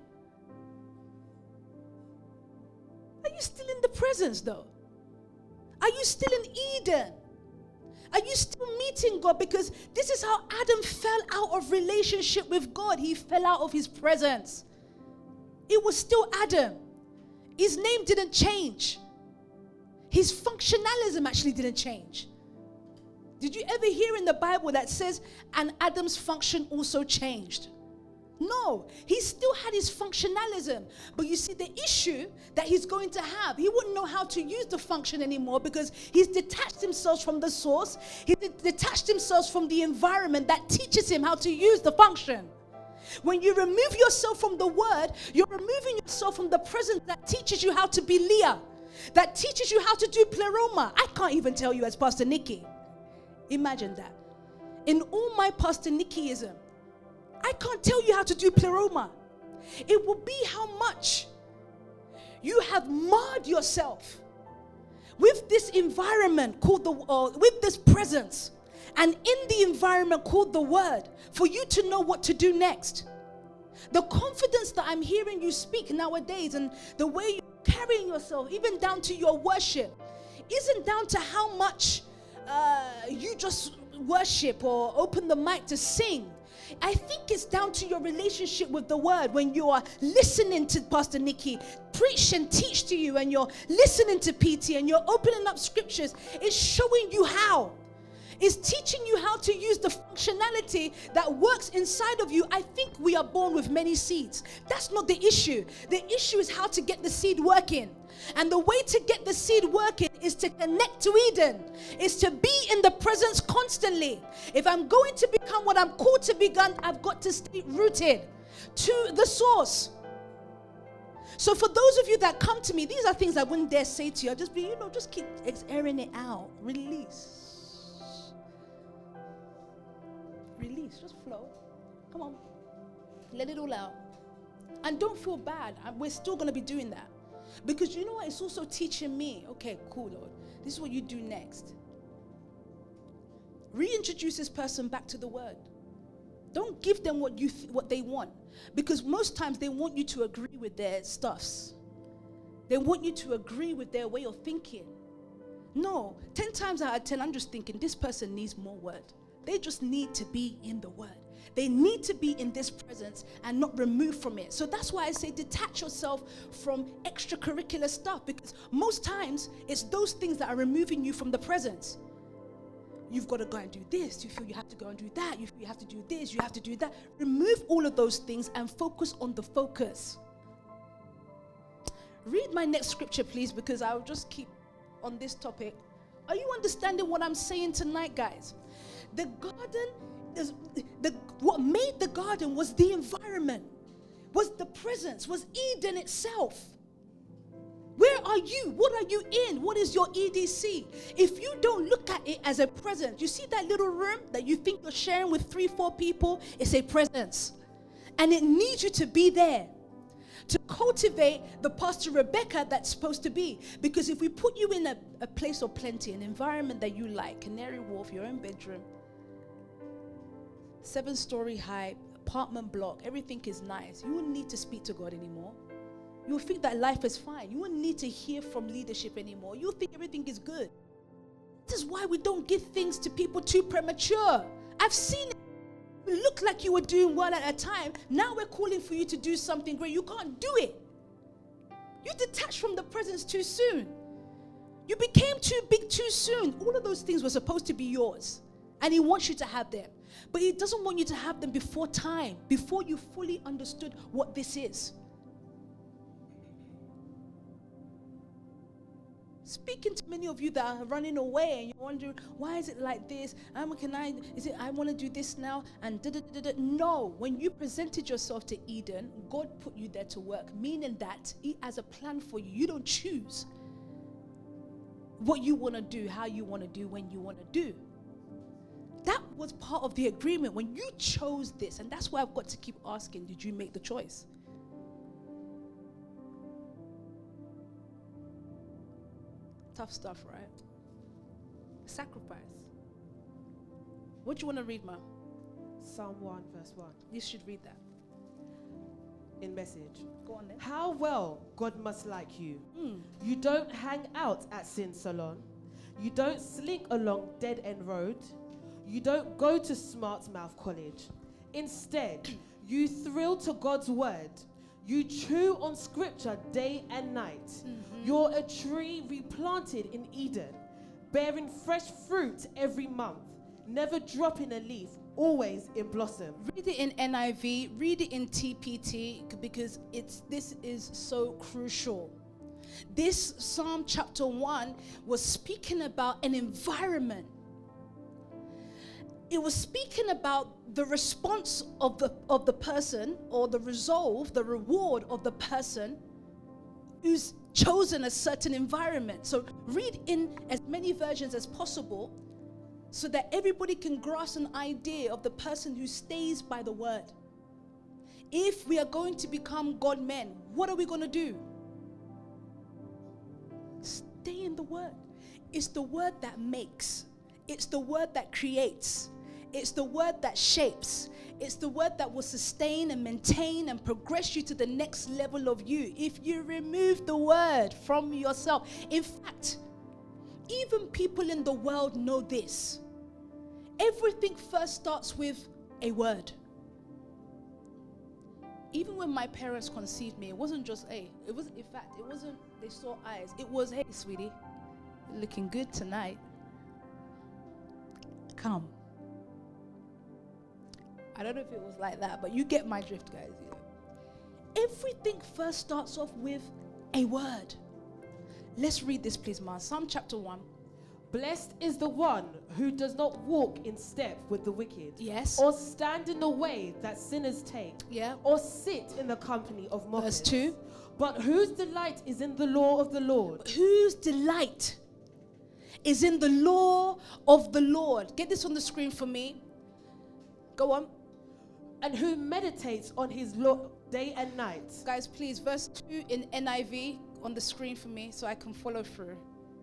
are you still in the presence though? Are you still in Eden? Are you still meeting God? Because this is how Adam fell out of relationship with God. He fell out of his presence. It was still Adam. His name didn't change. His functionalism actually didn't change. Did you ever hear in the Bible that says, and Adam's function also changed? No, he still had his functionalism. But you see, the issue that he's going to have, he wouldn't know how to use the function anymore because he's detached himself from the source. He de- detached himself from the environment that teaches him how to use the function. When you remove yourself from the word, you're removing yourself from the presence that teaches you how to be Leah, that teaches you how to do pleroma. I can't even tell you as Pastor Nikki. Imagine that. In all my Pastor Nikkiism, I can't tell you how to do pleroma. It will be how much you have marred yourself with this environment called the, uh, with this presence, and in the environment called the word, for you to know what to do next. The confidence that I'm hearing you speak nowadays and the way you're carrying yourself, even down to your worship, isn't down to how much Uh, you just worship or open the mic to sing. I think it's down to your relationship with the word. When you are listening to Pastor Nikki preach and teach to you, and you're listening to P T and you're opening up scriptures, it's showing you how. It's teaching you how to use the functionality that works inside of you. I think we are born with many seeds. That's not the issue. The issue is how to get the seed working. And the way to get the seed working is to connect to Eden, is to be in the presence constantly. If I'm going to become what I'm called to become, I've got to stay rooted to the source. So for those of you that come to me, these are things I wouldn't dare say to you. I'll just be, you know, just keep airing it out. Release. Release. Just flow. Come on. Let it all out. And don't feel bad. We're still going to be doing that. Because you know what? It's also teaching me, okay, cool, Lord. This is what you do next. Reintroduce this person back to the word. Don't give them what you th- what they want. Because most times they want you to agree with their stuffs. They want you to agree with their way of thinking. No, ten times out of ten, I'm just thinking this person needs more word. They just need to be in the word. They need to be in this presence and not removed from it. So that's why I say detach yourself from extracurricular stuff, because most times it's those things that are removing you from the presence. You've got to go and do this. You feel you have to go and do that. You feel you have to do this. You have to do that. Remove all of those things and focus on the focus. Read my next scripture, please, because I'll just keep on this topic. Are you understanding what I'm saying tonight, guys? The garden is the what made the garden was the environment, was the presence, was Eden itself. Where are you? What are you in? What is your E D C? If you don't look at it as a presence, you see that little room that you think you're sharing with three, four people, it's a presence. And it needs you to be there to cultivate the Pastor Rebecca that's supposed to be. Because if we put you in a, a place of plenty, an environment that you like, Canary Wharf, your own bedroom, seven-story high, apartment block, everything is nice, you wouldn't need to speak to God anymore. You will think that life is fine. You wouldn't need to hear from leadership anymore. You'll think everything is good. This is why we don't give things to people too premature. I've seen it. You look like you were doing well at a time. Now we're calling for you to do something great. You can't do it. You detached from the presence too soon. You became too big too soon. All of those things were supposed to be yours. And he wants you to have them. But he doesn't want you to have them before time, before you fully understood what this is. Speaking to many of you that are running away and you're wondering, why is it like this? Um, can I, is it, I want to do this now? And da, da, da, da. No, when you presented yourself to Eden, God put you there to work, meaning that he has a plan for you. You don't choose what you want to do, how you want to do, when you want to do. That was part of the agreement when you chose this. And that's why I've got to keep asking, did you make the choice? Tough stuff, right? Sacrifice. What do you want to read, Ma? Psalm one, verse one. You should read that. In Message. Go on then. How well God must like you. Mm. You don't hang out at Sin Salon. You don't slink along Dead End Road. You don't go to Smart Mouth College. Instead, you thrill to God's word. You chew on scripture day and night. Mm-hmm. You're a tree replanted in Eden, bearing fresh fruit every month, never dropping a leaf, always in blossom. Read it in N I V, read it in T P T, because it's this is so crucial. This Psalm chapter one was speaking about an environment. It was speaking about the response of the of the person, or the resolve, the reward of the person who's chosen a certain environment. So read in as many versions as possible so that everybody can grasp an idea of the person who stays by the word. If we are going to become God men, what are we going to do? Stay in the word. It's the word that makes. It's the word that creates. It's the word that shapes. It's the word that will sustain and maintain and progress you to the next level of you. If you remove the word from yourself. In fact, even people in the world know this. Everything first starts with a word. Even when my parents conceived me, it wasn't just, hey, it was, in fact, it wasn't, they saw eyes. It was, hey, sweetie, you're looking good tonight. Come. I don't know if it was like that, but you get my drift, guys. You know. Everything first starts off with a word. Let's read this, please, Ma. Psalm chapter one. Blessed is the one who does not walk in step with the wicked. Yes. Or stand in the way that sinners take. Yeah. Or sit in the company of mockers. Verse two. But whose delight is in the law of the Lord. Whose delight is in the law of the Lord. Get this on the screen for me. Go on. And who meditates on his law day and night. Guys, please, verse two in N I V on the screen for me so I can follow through.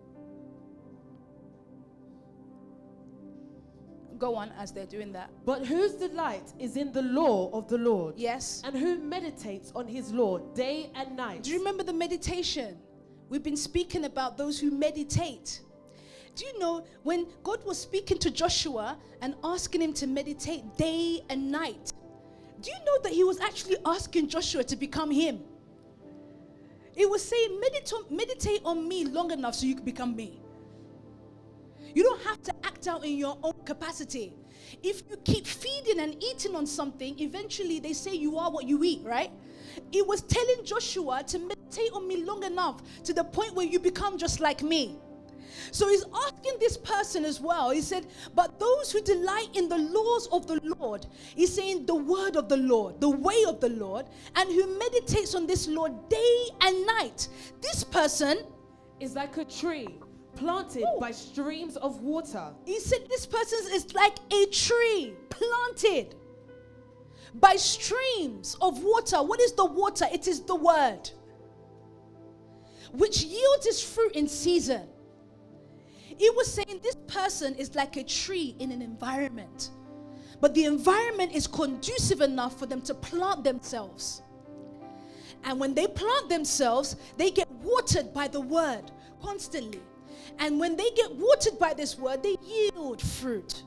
Go on as they're doing that. But whose delight is in the law of the Lord. Yes. And who meditates on his law day and night. Do you remember the meditation? We've been speaking about those who meditate. Do you know when God was speaking to Joshua and asking him to meditate day and night? Do you know that he was actually asking Joshua to become him? It was saying, meditate, meditate on me long enough so you can become me. You don't have to act out in your own capacity. If you keep feeding and eating on something, eventually they say you are what you eat, right? It was telling Joshua to meditate on me long enough to the point where you become just like me. So he's asking this person as well. He said, but those who delight in the laws of the Lord, he's saying the word of the Lord, the way of the Lord, and who meditates on this law day and night. This person is like a tree planted Ooh. by streams of water. He said this person is like a tree planted by streams of water. What is the water? It is the word, which yields its fruit in season. He was saying this person is like a tree in an environment, but the environment is conducive enough for them to plant themselves. And when they plant themselves, they get watered by the word constantly. And when they get watered by this word, they yield fruit.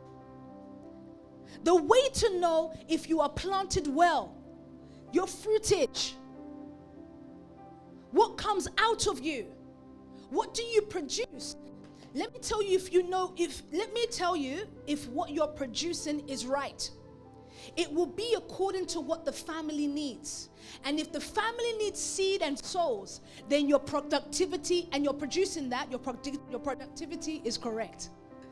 The way to know if you are planted well, your fruitage. What comes out of you? What do you produce? Let me tell you if you know, if, let me tell you if what you're producing is right. It will be according to what the family needs. And if the family needs seed and souls, then your productivity, and you're producing that, your, produ- your productivity is correct.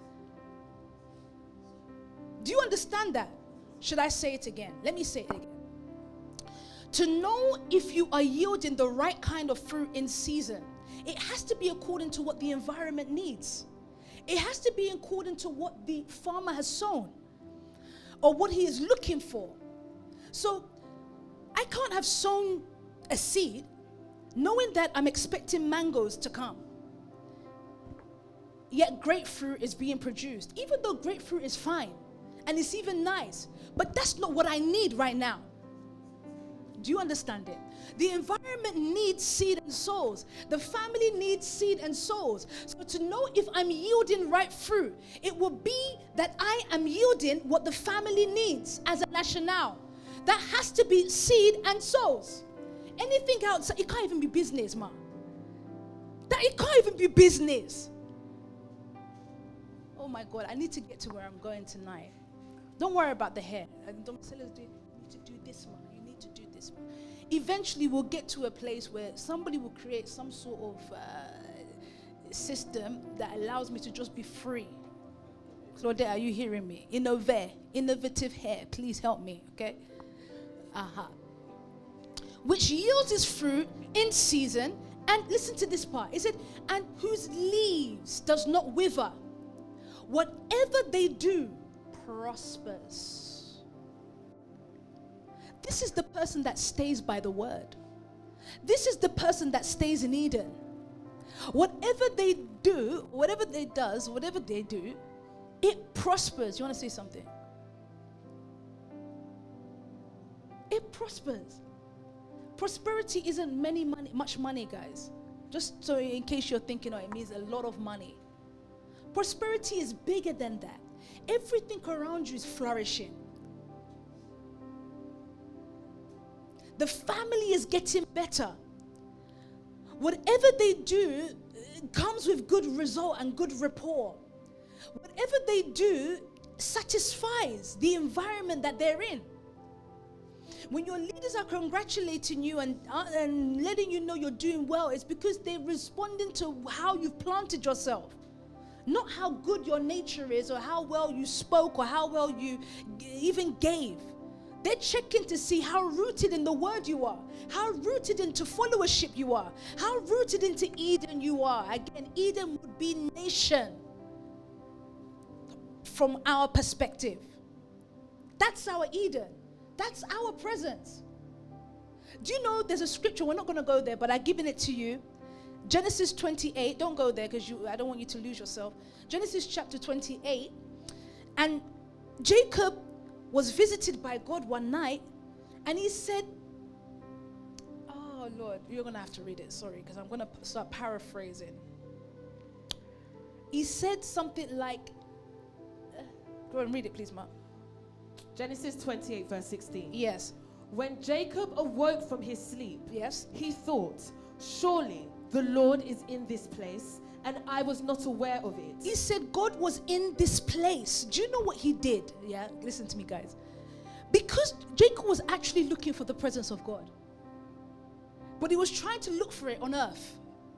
Do you understand that? Should I say it again? Let me say it again. To know if you are yielding the right kind of fruit in season, it has to be according to what the environment needs. It has to be according to what the farmer has sown or what he is looking for. So I can't have sown a seed knowing that I'm expecting mangoes to come. Yet grapefruit is being produced. Even though grapefruit is fine and it's even nice, but that's not what I need right now. Do you understand it? The environment needs seed and souls. The family needs seed and souls. So to know if I'm yielding right fruit, it will be that I am yielding what the family needs as a rationale. That has to be seed and souls. Anything outside, it can't even be business, man. That it can't even be business. Oh my God, I need to get to where I'm going tonight. Don't worry about the hair. Don't tell us, you need to do this one. You need to do this one. Eventually, we'll get to a place where somebody will create some sort of uh, system that allows me to just be free. Claudette, are you hearing me? Innove, innovative hair. Please help me, okay? Uh-huh. Which yields its fruit in season. And listen to this part. It said, and whose leaves does not wither. Whatever they do prospers. This is the person that stays by the word. This is the person that stays in Eden. Whatever they do, whatever they does, whatever they do, it prospers. You want to say something? It prospers. Prosperity isn't many money, much money, guys. Just so in case you're thinking, oh, it means a lot of money. Prosperity is bigger than that. Everything around you is flourishing. The family is getting better. Whatever they do comes with good result and good rapport. Whatever they do satisfies the environment that they're in. When your leaders are congratulating you and, uh, and letting you know you're doing well, it's because they're responding to how you've planted yourself. Not how good your nature is or how well you spoke or how well you g- even gave. They're checking to see how rooted in the word you are, how rooted into followership you are, how rooted into Eden you are. Again, Eden would be nation from our perspective. That's our Eden. That's our presence. Do you know there's a scripture, we're not going to go there, but I've given it to you. Genesis twenty-eight, don't go there because you, I don't want you to lose yourself. Genesis chapter twenty-eight, and Jacob was visited by God one night, and he said, oh Lord, you're going to have to read it, sorry, because I'm going to start paraphrasing. He said something like, uh, go and read it please, Mark. Genesis twenty-eight verse sixteen. Yes. When Jacob awoke from his sleep, yes, he thought, surely the Lord is in this place, and I was not aware of it. He said God was in this place. Do you know what he did? Yeah, listen to me, guys. Because Jacob was actually looking for the presence of God, but he was trying to look for it on earth.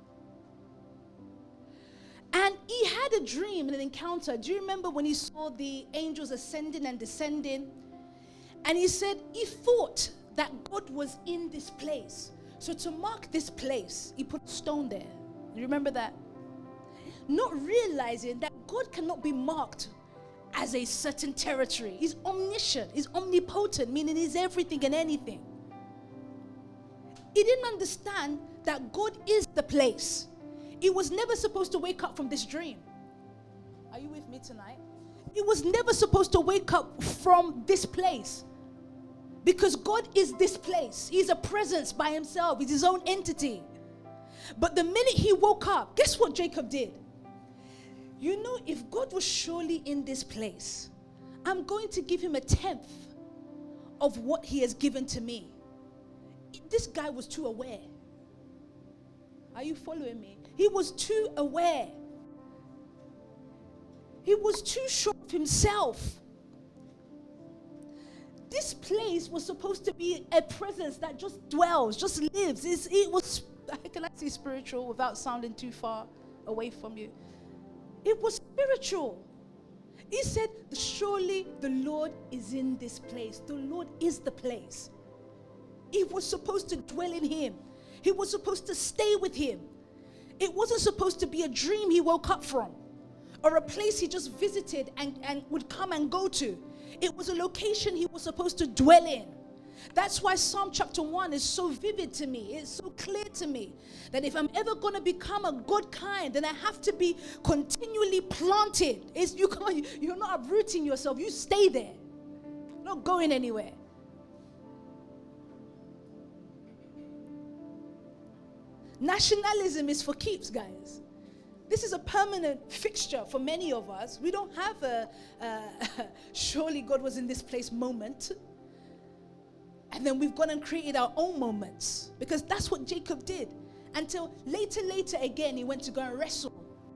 And he had a dream and an encounter. Do you remember when he saw the angels ascending and descending? And he said he thought that God was in this place. So to mark this place, he put a stone there. You remember that? Not realizing that God cannot be marked as a certain territory. He's omniscient. He's omnipotent, meaning he's everything and anything. He didn't understand that God is the place. He was never supposed to wake up from this dream. Are you with me tonight? He was never supposed to wake up from this place. Because God is this place. He's a presence by himself. He's his own entity. But the minute he woke up, guess what Jacob did? you know, if God was surely in this place, I'm going to give him a tenth of what he has given to me. This guy was too aware. Are you following me? He was too aware. He was too sure of himself. This place was supposed to be a presence that just dwells, just lives. It's, it was, how can I say spiritual without sounding too far away from you? It was spiritual. He said, surely the Lord is in this place. The Lord is the place. He was supposed to dwell in him. He was supposed to stay with him. It wasn't supposed to be a dream he woke up from or a place he just visited and, and would come and go to. It was a location he was supposed to dwell in. That's why Psalm chapter one is so vivid to me. It's so clear to me that if I'm ever going to become a good kind, then I have to be continually planted. It's, you can't, you're not uprooting yourself. You stay there. Not going anywhere. Nationalism is for keeps, guys. This is a permanent fixture for many of us. We don't have a, uh, surely God was in this place moment. And then we've gone and created our own moments. Because that's what Jacob did. Until later, later again, he went to go and wrestle.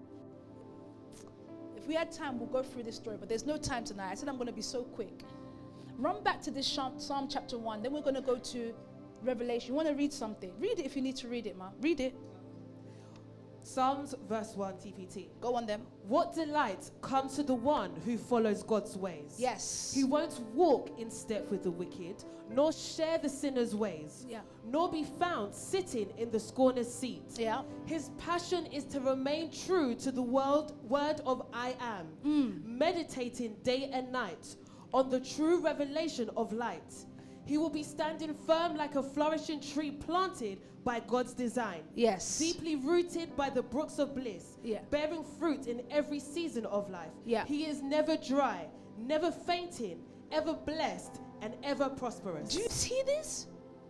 If we had time, we'll go through this story. But there's no time tonight. I said I'm going to be so quick. Run back to this Psalm chapter one. Then we're going to go to Revelation. You want to read something? Read it if you need to read it, ma. Read it. Psalms verse one T P T. Go on them. What delight comes to the one who follows God's ways. Yes. He won't walk in step with the wicked, nor share the sinner's ways, yeah. nor be found sitting in the scorner's seat. Yeah. His passion is to remain true to the world, word of I am, mm. meditating day and night on the true revelation of light. He will be standing firm like a flourishing tree planted by God's design. Yes. Deeply rooted by the brooks of bliss. Yeah. Bearing fruit in every season of life. Yeah. He is never dry, never fainting, ever blessed, and ever prosperous. Do you see this?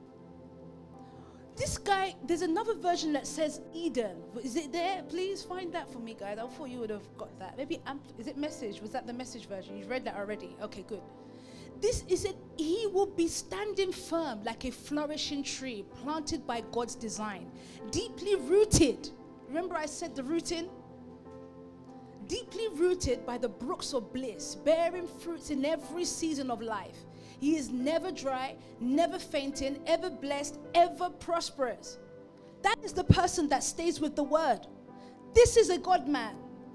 This guy, there's another version that says Eden. Is it there? Please find that for me, guys. I thought you would have got that. Maybe, ampl- is it Message? Was that the Message version? You've read that already. Okay, good. This is it. He will be standing firm like a flourishing tree planted by God's design, deeply rooted. Remember I said the rooting? Deeply rooted by the brooks of bliss, bearing fruits in every season of life. He is never dry, never fainting, ever blessed, ever prosperous. That is the person that stays with the word. This is a God man.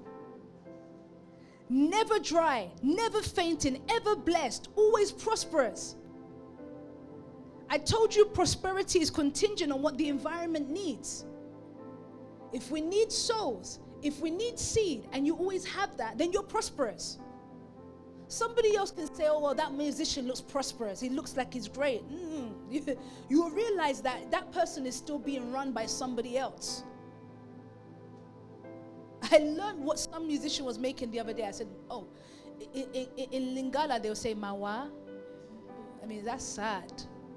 Never dry, never fainting, ever blessed, always prosperous. I told you prosperity is contingent on what the environment needs. If we need souls, if we need seed, and you always have that, then you're prosperous. Somebody else can say, oh, well, that musician looks prosperous. He looks like he's great. Mm. You, you will realize that that person is still being run by somebody else. I learned what some musician was making the other day. I said, oh, in, in, in Lingala, they'll say, Mawa. I mean, that's sad.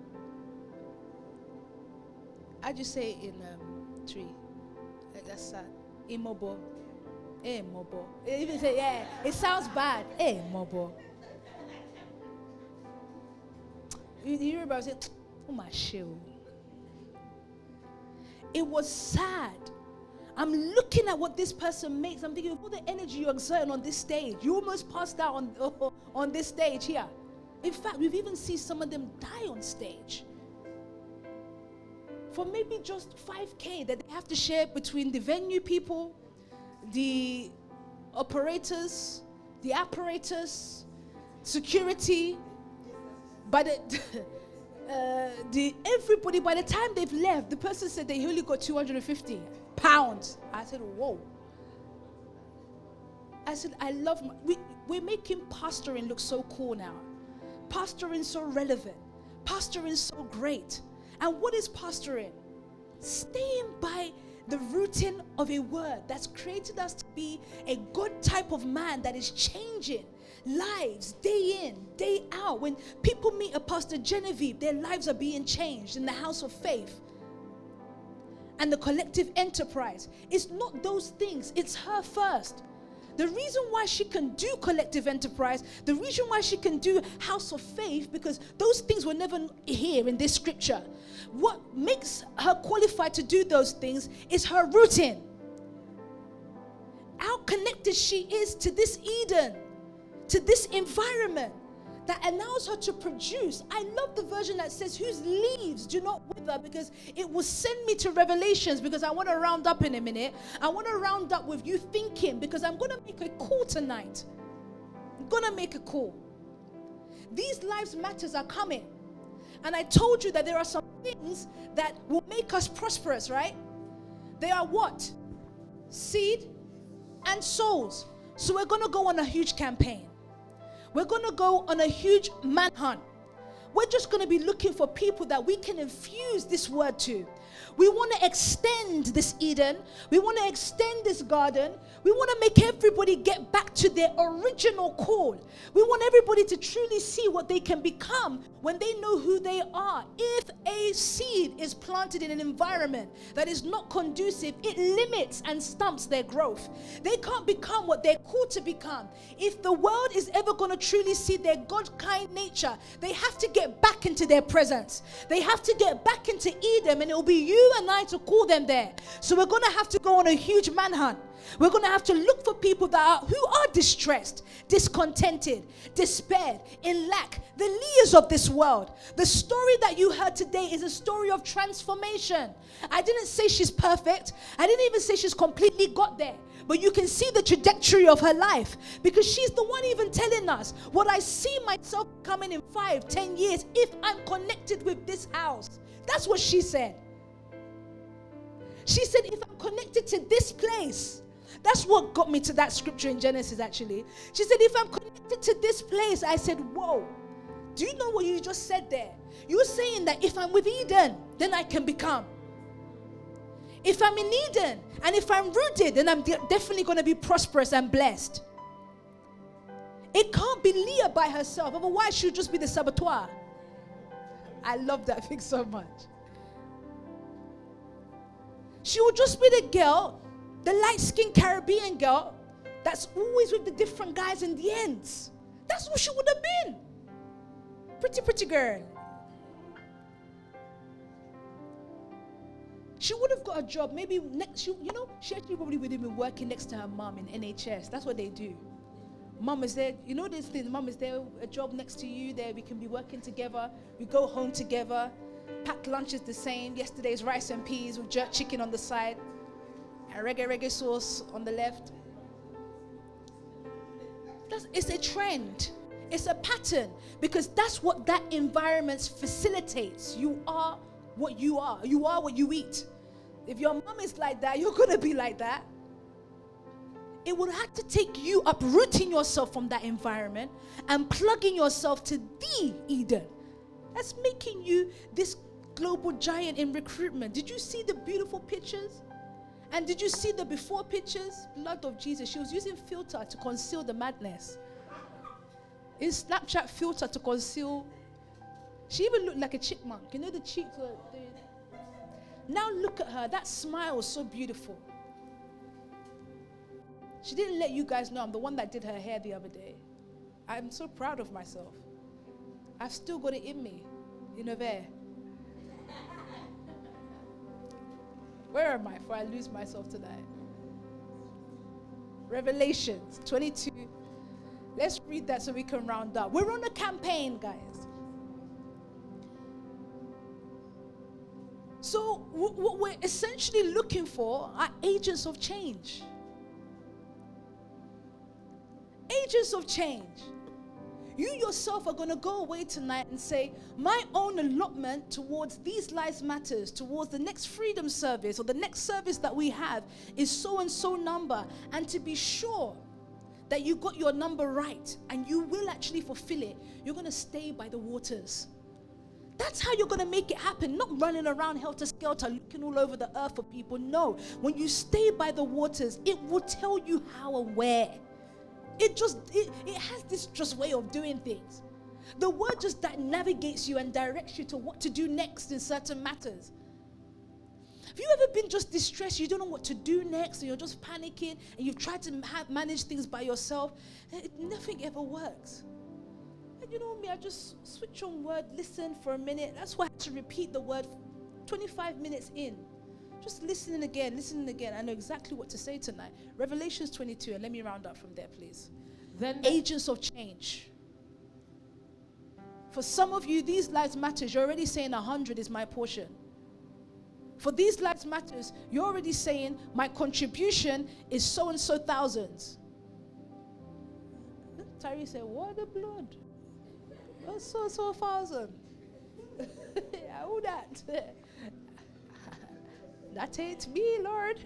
I just say in um, tree. Like, that's sad. Imobo. Eh, mobo. Even say, yeah, it sounds bad. Eh, mobo. You, you hear about it? Oh, my shoe. It was sad. I'm looking at what this person makes. I'm thinking of all the energy you're exerting on this stage. You almost passed out on, oh, on this stage here. In fact, we've even seen some of them die on stage. For maybe just five K that they have to share between the venue people, the operators, the apparatus, security. By the, uh, the everybody, by the time they've left, the person said they only got two hundred fifty pounds. I said, whoa. I said, I love, my, we, we're making pastoring look so cool now. Pastoring so relevant. Pastoring so great. And what is pastoring? Staying by the rooting of a word that's created us to be a good type of man that is changing lives day in, day out. When people meet a Pastor Genevieve, their lives are being changed in the house of faith. And the collective enterprise. It's not those things. It's her first. The reason why she can do collective enterprise, the reason why she can do house of faith, because those things were never here in this scripture. What makes her qualified to do those things is her rooting. How connected she is to this Eden, to this environment that allows her to produce. I love the version that says, whose leaves do not wither, because it will send me to Revelations, because I want to round up in a minute. I want to round up with you thinking, because I'm going to make a call tonight. I'm going to make a call. These lives matters are coming. And I told you that there are some things that will make us prosperous, right? They are what? Seed and souls. So we're going to go on a huge campaign. We're going to go on a huge manhunt. We're just going to be looking for people that we can infuse this word to. We want to extend this Eden. We want to extend this garden. We want to make everybody get back to their original call. We want everybody to truly see what they can become when they know who they are. If a seed is planted in an environment that is not conducive, it limits and stumps their growth. They can't become what they're called to become. If the world is ever going to truly see their God-kind nature, they have to get back into their presence. They have to get back into Eden, and it will be you and I to call them there. So we're going to have to go on a huge manhunt. We're going to have to look for people that are, who are distressed, discontented, despaired, in lack, the leaders of this world. The story that you heard today is a story of transformation. I didn't say she's perfect. I didn't even say she's completely got there. But you can see the trajectory of her life, because she's the one even telling us what I see myself coming in five, ten years if I'm connected with this house. That's what she said. She said, if I'm connected to this place, that's what got me to that scripture in Genesis, actually. She said, if I'm connected to this place, I said, whoa. Do you know what you just said there? You're saying that if I'm with Eden, then I can become. If I'm in Eden, and if I'm rooted, then I'm de- definitely going to be prosperous and blessed. It can't be Leah by herself. Otherwise, she'll just be the saboteur. I love that thing so much. She will just be the girl, the light-skinned Caribbean girl that's always with the different guys in the ends. That's what she would have been. Pretty, pretty girl. She would have got a job. Maybe next, she, you know, she actually probably would have been working next to her mom in N H S. That's what they do. Mom is there. You know this thing. Mom is there. A job next to you. There, we can be working together. We go home together. Packed lunch is the same. Yesterday's rice and peas with jerk chicken on the side, and reggae reggae sauce on the left. That's, it's a trend. It's a pattern, because that's what that environment facilitates. You are what you are. You are what you eat. If your mom is like that, you're going to be like that. It would have to take you uprooting yourself from that environment and plugging yourself to the Eden. That's making you this global giant in recruitment. Did you see the beautiful pictures? And did you see the before pictures? Blood of Jesus. She was using filter to conceal the madness. In Snapchat, filter to conceal. She even looked like a chipmunk. You know the cheeks were... The, now look at her. That smile was so beautiful. She didn't let you guys know I'm the one that did her hair the other day. I'm so proud of myself. I've still got it in me. You know there. Where am I before I lose myself tonight? Revelations twenty-two. Let's read that so we can round up. We're on a campaign, guys. So w- what we're essentially looking for are agents of change. Agents of change. You yourself are going to go away tonight and say, my own allotment towards these lives matters, towards the next freedom service or the next service that we have is so and so number. And to be sure that you got your number right and you will actually fulfill it, you're going to stay by the waters. That's how you're going to make it happen. Not running around helter-skelter, looking all over the earth for people. No. When you stay by the waters, it will tell you how and where. It just, it, it has this just way of doing things. The word just that navigates you and directs you to what to do next in certain matters. Have you ever been just distressed? You don't know what to do next, and you're just panicking, and you've tried to ma- manage things by yourself, and it, nothing ever works. And you know me, I just switch on word, listen for a minute. That's why I had to repeat the word twenty-five minutes in. Just listening again, listening again. I know exactly what to say tonight. Revelations twenty-two, and let me round up from there, please. Then agents of change. For some of you, these lives matters. You're already saying one hundred is my portion. For these lives matters, you're already saying my contribution is so and so thousands. Tyree said, what the blood? Oh, so and so thousand. Yeah, who that? That ain't me, Lord.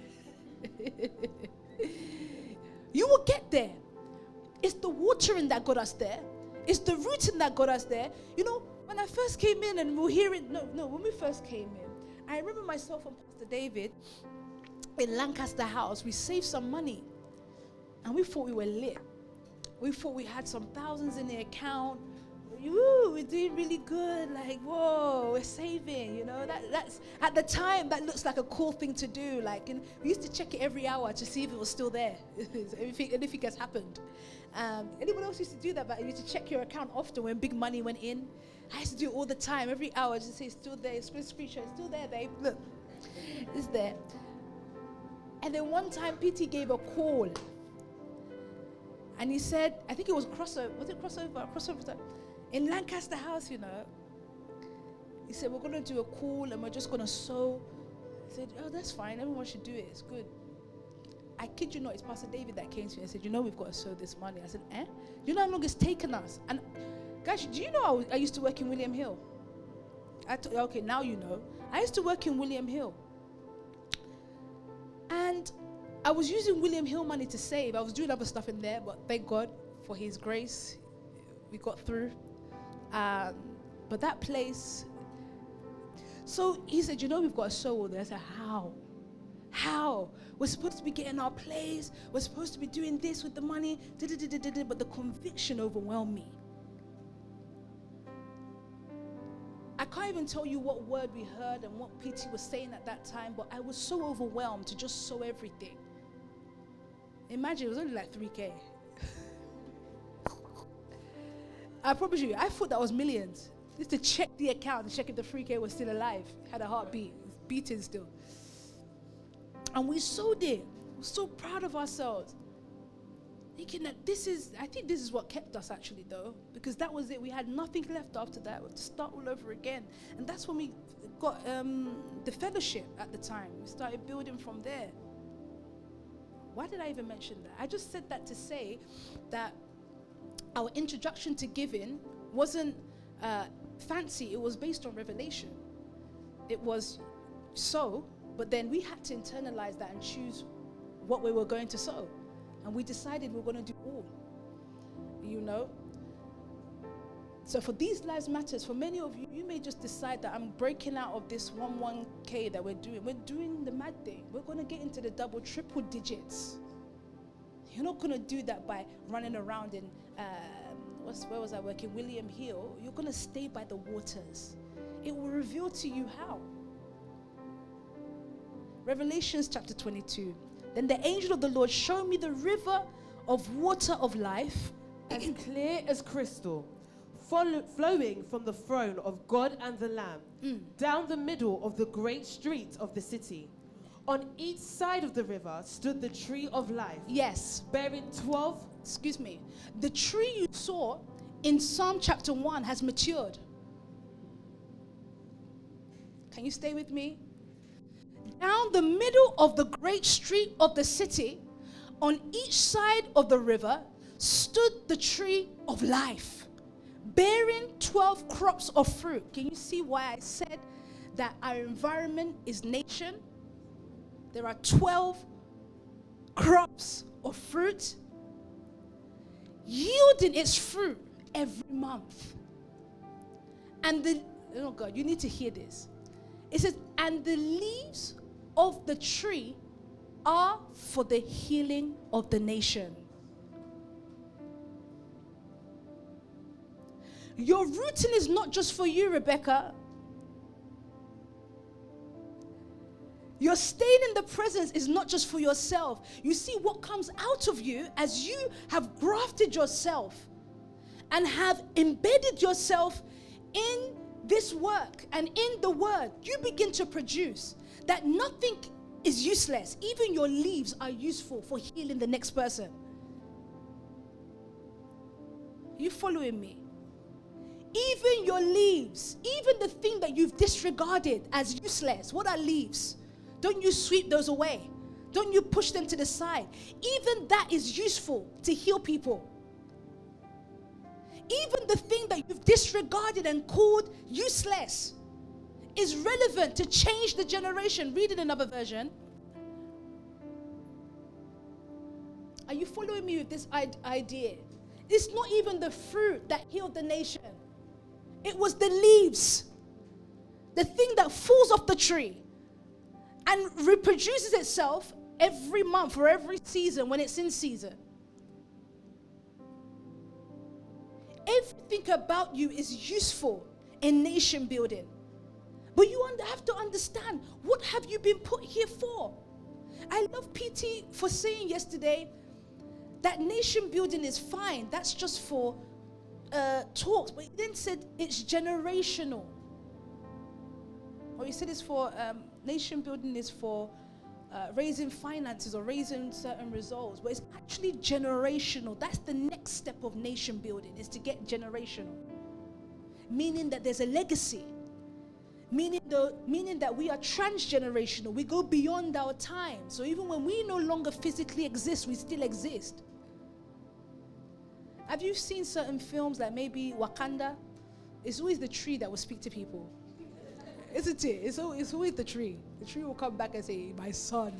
You will get there. It's the watering that got us there. It's the rooting that got us there. You know, when I first came in and we were hearing, no, no, when we first came in, I remember myself and Pastor David in Lancaster House, we saved some money. And we thought we were lit. We thought we had some thousands in the account. Woo, we're doing really good. Like, whoa, we're saving, you know. That, that's at the time, that looks like a cool thing to do. Like, and we used to check it every hour to see if it was still there, if anything has happened. Um, anyone else used to do that? But you used to check your account often when big money went in. I used to do it all the time, every hour, just to say it's still there. It's screenshot, it's still there, babe. Look, it's there. And then one time, P T gave a call, and he said, I think it was crossover. Was it crossover? Crossover. In Lancaster House, you know, he said, we're going to do a call and we're just going to sow. I said, oh, that's fine. Everyone should do it. It's good. I kid you not, it's Pastor David that came to me and said, you know, we've got to sow this money. I said, eh? Do you know how long it's taken us? And guys, do you know I, was, I used to work in William Hill? I t- okay, now you know. I used to work in William Hill. And I was using William Hill money to save. I was doing other stuff in there, but thank God for his grace, we got through. Um, but that place, so he said, you know, we've got to sow all this. I said, how? How? We're supposed to be getting our place. We're supposed to be doing this with the money. But the conviction overwhelmed me. I can't even tell you what word we heard and what P T was saying at that time, but I was so overwhelmed to just sow everything. Imagine, it was only like three K. I promise you, I thought that was millions. Just to check the account and check if the three K was still alive. Had a heartbeat, beating still. And we sowed it. We're so proud of ourselves. Thinking that this is, I think this is what kept us actually though. Because that was it. We had nothing left after that. We had to start all over again. And that's when we got um, the fellowship at the time. We started building from there. Why did I even mention that? I just said that to say that our introduction to giving wasn't uh, fancy. It was based on revelation. It was sow, but then we had to internalize that and choose what we were going to sow. And we decided we were going to do all, you know. So for these lives matters, for many of you, you may just decide that I'm breaking out of this one one K that we're doing. We're doing the mad thing. We're going to get into the double, triple digits. You're not going to do that by running around in, um, what's, where was I working? William Hill. You're going to stay by the waters. It will reveal to you how. Revelations chapter twenty-two. Then the angel of the Lord showed me the river of water of life, as clear as crystal, follow, flowing from the throne of God and the Lamb, mm. down the middle of the great street of the city. On each side of the river stood the tree of life. Yes. Bearing twelve. Excuse me. The tree you saw in Psalm chapter one has matured. Can you stay with me? Down the middle of the great street of the city, on each side of the river, stood the tree of life, bearing twelve crops of fruit. Can you see why I said that our environment is nation? There are twelve crops of fruit, yielding its fruit every month. And the, oh God, you need to hear this. It says, and the leaves of the tree are for the healing of the nation. Your rooting is not just for you, Rebecca. Your staying in the presence is not just for yourself. You see what comes out of you as you have grafted yourself and have embedded yourself in this work and in the word. You begin to produce that nothing is useless. Even your leaves are useful for healing the next person. You following me? Even your leaves, even the thing that you've disregarded as useless, what are leaves? Don't you sweep those away? Don't you push them to the side? Even that is useful to heal people. Even the thing that you've disregarded and called useless is relevant to change the generation. Read it in another version. Are you following me with this idea? It's not even the fruit that healed the nation. It was the leaves. The thing that falls off the tree and reproduces itself every month or every season when it's in season. Everything about you is useful in nation building. But you have to understand, what have you been put here for? I love P T for saying yesterday that nation building is fine. That's just for uh, talks. But he then said it's generational. Or he said it's for, um, nation building is for uh, raising finances or raising certain results. But it's actually generational. That's the next step of nation building, is to get generational. Meaning that there's a legacy. Meaning, the, meaning that we are transgenerational. We go beyond our time. So even when we no longer physically exist, we still exist. Have you seen certain films like maybe Wakanda? It's always the tree that will speak to people. Isn't it? It's always, it's always the tree. The tree will come back and say, my son,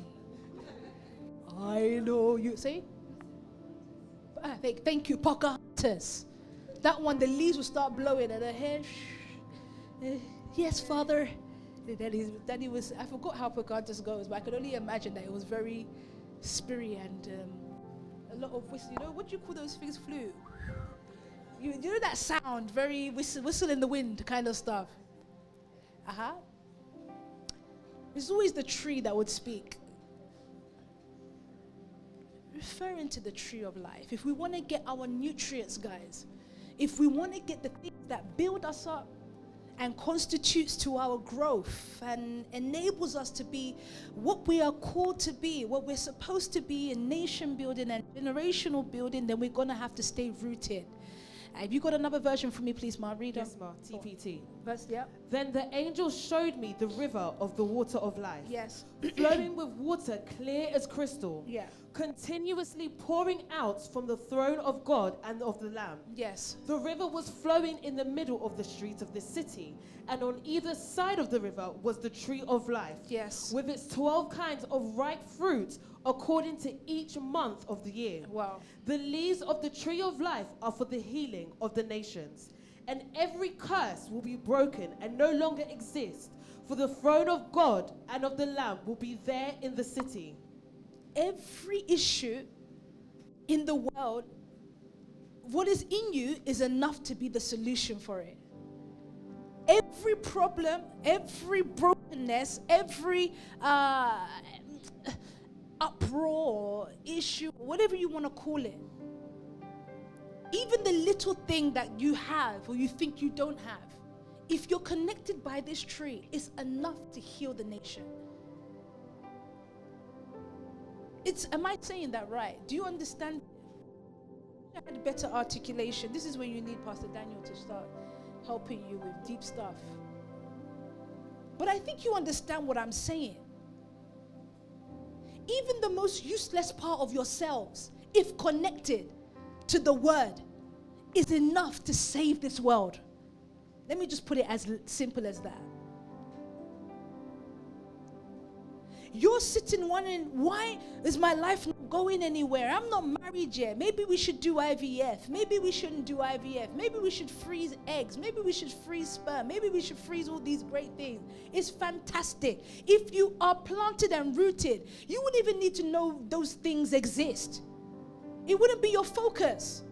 I know you. See? Ah, thank, thank you, Pocahontas. That one, the leaves will start blowing and the hair, shh, uh, yes, Father. And then, he, then he was, I forgot how Pocahontas goes, but I could only imagine that it was very spirity and um, a lot of whistle. You know, what do you call those things? Flute. You, you know that sound, very whistle, whistle in the wind kind of stuff. Uh-huh. It's always the tree that would speak. Referring to the tree of life. If we want to get our nutrients, guys, if we want to get the things that build us up and constitutes to our growth and enables us to be what we are called to be, what we're supposed to be in nation building and generational building, then we're going to have to stay rooted. Have you got another version for me, please, Ma? Read Yes, Ma. T P T. Verse, yeah. Then the angel showed me the river of the water of life. Yes. Flowing with water clear as crystal. Yeah. Continuously pouring out from the throne of God and of the Lamb. Yes. The river was flowing in the middle of the street of the city, and on either side of the river was the tree of life. Yes. With its twelve kinds of ripe fruit according to each month of the year. Wow. The leaves of the tree of life are for the healing of the nations. And every curse will be broken and no longer exist, for the throne of God and of the Lamb will be there in the city. Every issue in the world, what is in you is enough to be the solution for it. Every problem, every brokenness, every uh, uproar, issue, whatever you want to call it, even the little thing that you have or you think you don't have, if you're connected by this tree, it's enough to heal the nation. It's, am I saying that right? Do you understand? I had better articulation. This is when you need Pastor Daniel to start helping you with deep stuff. But I think you understand what I'm saying. Even the most useless part of yourselves, if connected to the word, is enough to save this world. Let me just put it as simple as that. You're sitting wondering, why is my life not going anywhere? I'm not married yet. Maybe we should do I V F. Maybe we shouldn't do I V F. Maybe we should freeze eggs. Maybe we should freeze sperm. Maybe we should freeze all these great things. It's fantastic. If you are planted and rooted, you wouldn't even need to know those things exist. It wouldn't be your focus.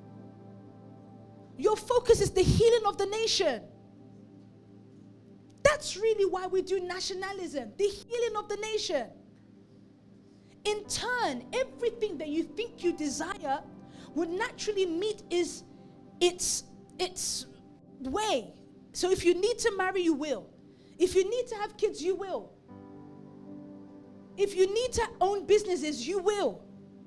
Your focus is the healing of the nation. That's really why we do nationalism, the healing of the nation. In turn, everything that you think you desire would naturally meet is its, its way. So if you need to marry, you will. If you need to have kids, you will. If you need to own businesses, you will.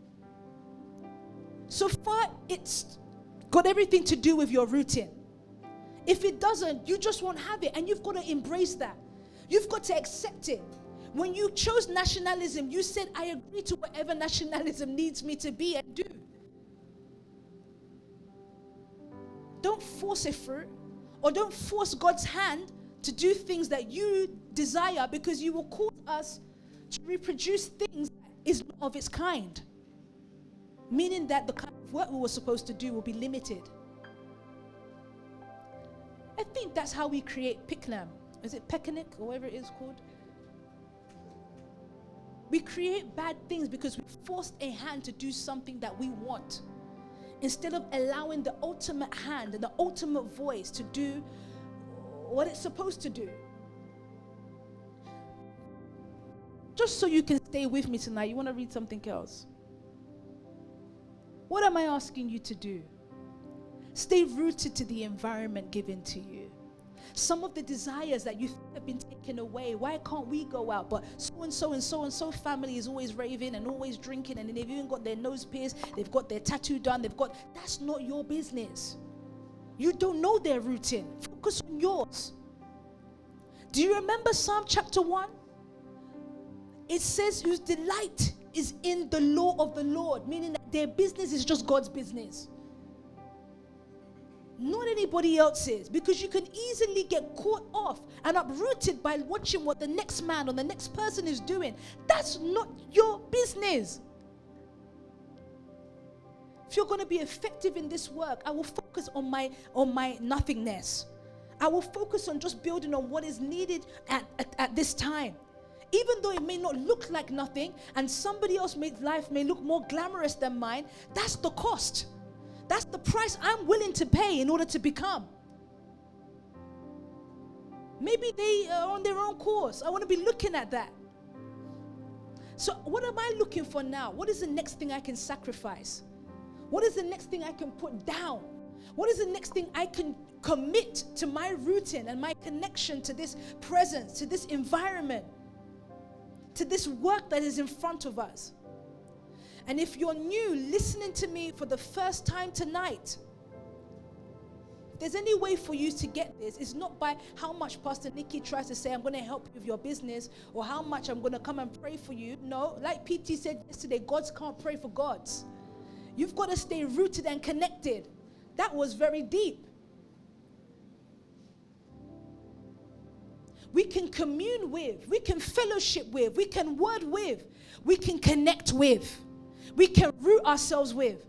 So far, it's got everything to do with your routine. If it doesn't, you just won't have it. And you've got to embrace that. You've got to accept it. When you chose nationalism, you said, I agree to whatever nationalism needs me to be and do. Don't force it through, or don't force God's hand to do things that you desire, because you will cause us to reproduce things that is not of its kind. Meaning that the kind of work we were supposed to do will be limited. I think that's how we create Piknam. Is it Pekanik or whatever it is called? We create bad things because we forced a hand to do something that we want, instead of allowing the ultimate hand and the ultimate voice to do what it's supposed to do. Just so you can stay with me tonight, you want to read something else? What am I asking you to do? Stay rooted to the environment given to you. Some of the desires that you think have been taken away, why can't we go out? But so-and-so and so-and-so family is always raving and always drinking, and they've even got their nose pierced, they've got their tattoo done, they've got, that's not your business. You don't know their routine. Focus on yours. Do you remember Psalm chapter one? It says, whose delight is in the law of the Lord, meaning that their business is just God's business. Not anybody else's, because you can easily get caught off and uprooted by watching what the next man or the next person is doing. That's not your business. If you're going to be effective in this work, I will focus on my on my nothingness. I will focus on just building on what is needed at, at, at this time. Even though it may not look like nothing, and somebody else's life may look more glamorous than mine, that's the cost. That's the price I'm willing to pay in order to become. Maybe they are on their own course. I want to be looking at that. So what am I looking for now? What is the next thing I can sacrifice? What is the next thing I can put down? What is the next thing I can commit to my routine and my connection to this presence, to this environment, to this work that is in front of us? And if you're new, listening to me for the first time tonight, if there's any way for you to get this, it's not by how much Pastor Nikki tries to say, I'm going to help you with your business, or how much I'm going to come and pray for you. No, like P T said yesterday, gods can't pray for gods. You've got to stay rooted and connected. That was very deep. We can commune with, we can fellowship with, we can word with, we can connect with. We can root ourselves with.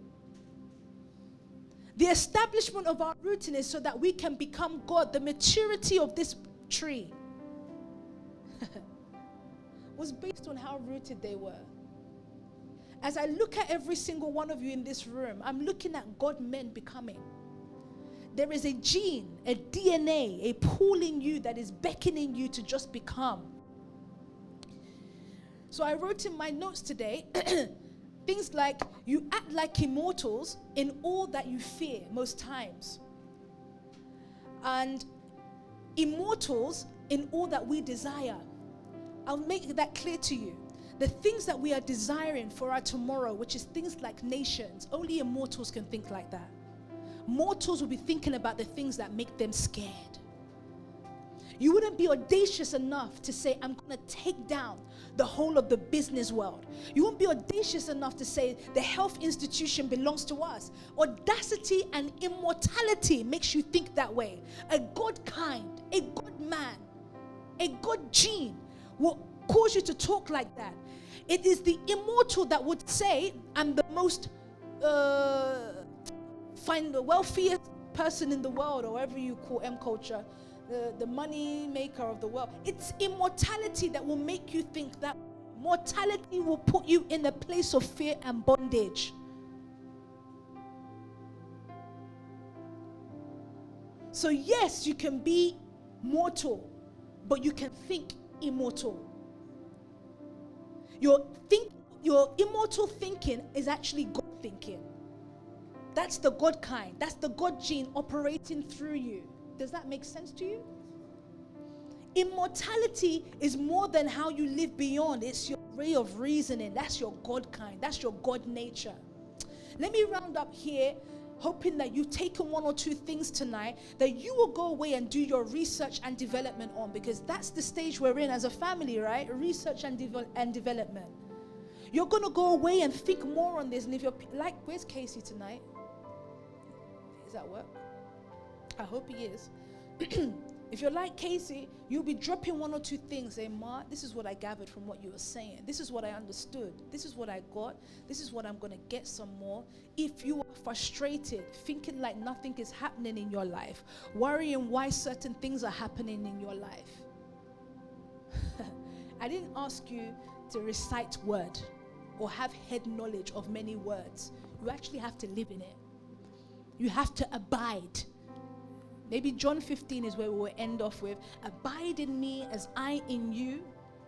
The establishment of our rooting is so that we can become God. The maturity of this tree was based on how rooted they were. As I look at every single one of you in this room, I'm looking at God men becoming. There is a gene, a D N A, a pool in you that is beckoning you to just become. So I wrote in my notes today, things like, you act like immortals in all that you fear most times. And immortals in all that we desire. I'll make that clear to you. The things that we are desiring for our tomorrow, which is things like nations, only immortals can think like that. Mortals will be thinking about the things that make them scared. You wouldn't be audacious enough to say, I'm going to take down the whole of the business world. You won't be audacious enough to say the health institution belongs to us. Audacity and immortality makes you think that way. A God kind, a God man, a God gene will cause you to talk like that. It is the immortal that would say, I'm the most uh, find the wealthiest person in the world, or whatever you call M culture. The, the money maker of the world. It's immortality that will make you think that. Mortality will put you in a place of fear and bondage. So yes, you can be mortal, but you can think immortal. Your think, your immortal thinking is actually God thinking. That's the God kind. That's the God gene operating through you. Does that make sense to you? Immortality is more than how you live beyond. It's your way of reasoning. That's your God kind. That's your God nature. Let me round up here, hoping that you've taken one or two things tonight that you will go away and do your research and development on, because that's the stage we're in as a family, right? Research and, devel- and development. You're going to go away and think more on this. And if you're like, where's Casey tonight? Is that work? I hope he is. If you're like Casey, you'll be dropping one or two things saying, Ma, this is what I gathered from what you were saying. This is what I understood. This is what I got. This is what I'm going to get some more. If you are frustrated, thinking like nothing is happening in your life, worrying why certain things are happening in your life. I didn't ask you to recite word or have head knowledge of many words. You actually have to live in it. You have to abide. Maybe John fifteen is where we will end off with. Abide in me as I in you.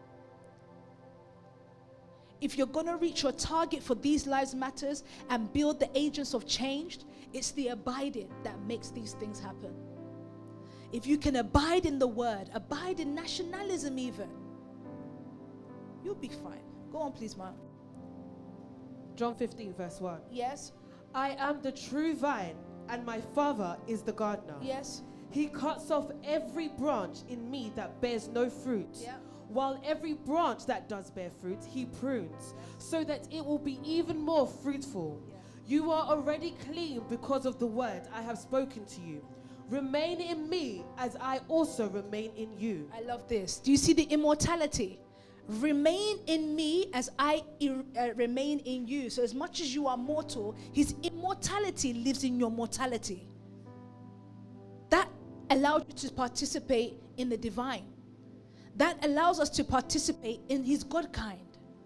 If you're going to reach your target for These Lives Matters and build the agents of change, it's the abiding that makes these things happen. If you can abide in the word, abide in nationalism even, you'll be fine. Go on, please, Ma. John fifteen, verse one. Yes. I am the true vine, and my Father is the gardener. Yes. He cuts off every branch in me that bears no fruit, Yeah. while every branch that does bear fruit, he prunes, so that it will be even more fruitful. Yeah. You are already clean because of the word I have spoken to you. Remain in me as I also remain in you. I love this. Do you see the immortality? Remain in me as I ir- uh, remain in you. So as much as you are mortal, his immortality lives in your mortality. That allows you to participate in the divine. That allows us to participate in his God kind.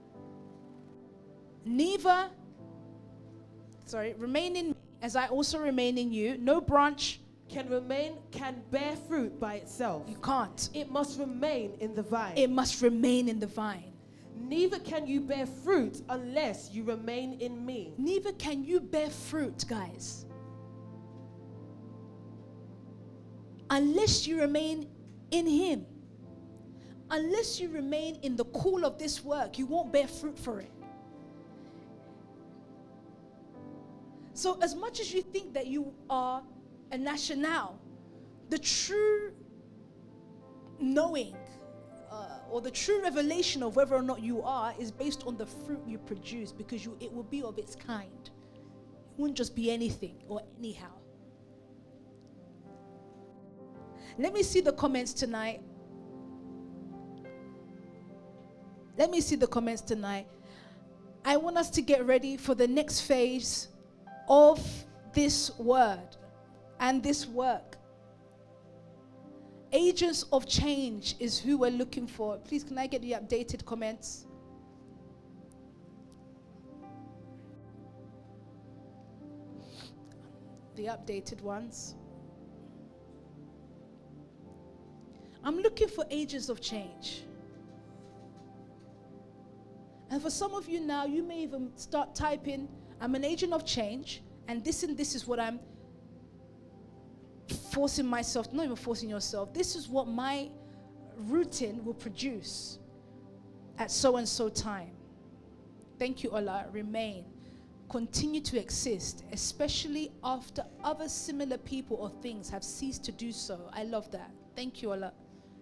Neither, sorry, remain in me as I also remain in you. No branch Can remain, can bear fruit by itself. you can't. It must remain in the vine. It must remain in the vine. Neither can you bear fruit unless you remain in me. Neither can you bear fruit, guys, unless you remain in him. Unless you remain in the call of this work, you won't bear fruit for it. So as much as you think that you are a national, the true knowing uh, or the true revelation of whether or not you are is based on the fruit you produce, because you, it will be of its kind. It won't just be anything or anyhow. Let me see the comments tonight. Let me see the comments tonight. I want us to get ready for the next phase of this word and this work. Agents of change is who we're looking for. Please, can I get the updated comments? The updated ones. I'm looking for agents of change. And for some of you now, you may even start typing, I'm an agent of change, and this and this is what I'm forcing myself, not even forcing yourself, this is what my routine will produce at so and so time. Thank you, Ola. Remain. Continue to exist, especially after other similar people or things have ceased to do so. I love that. Thank you, Ola.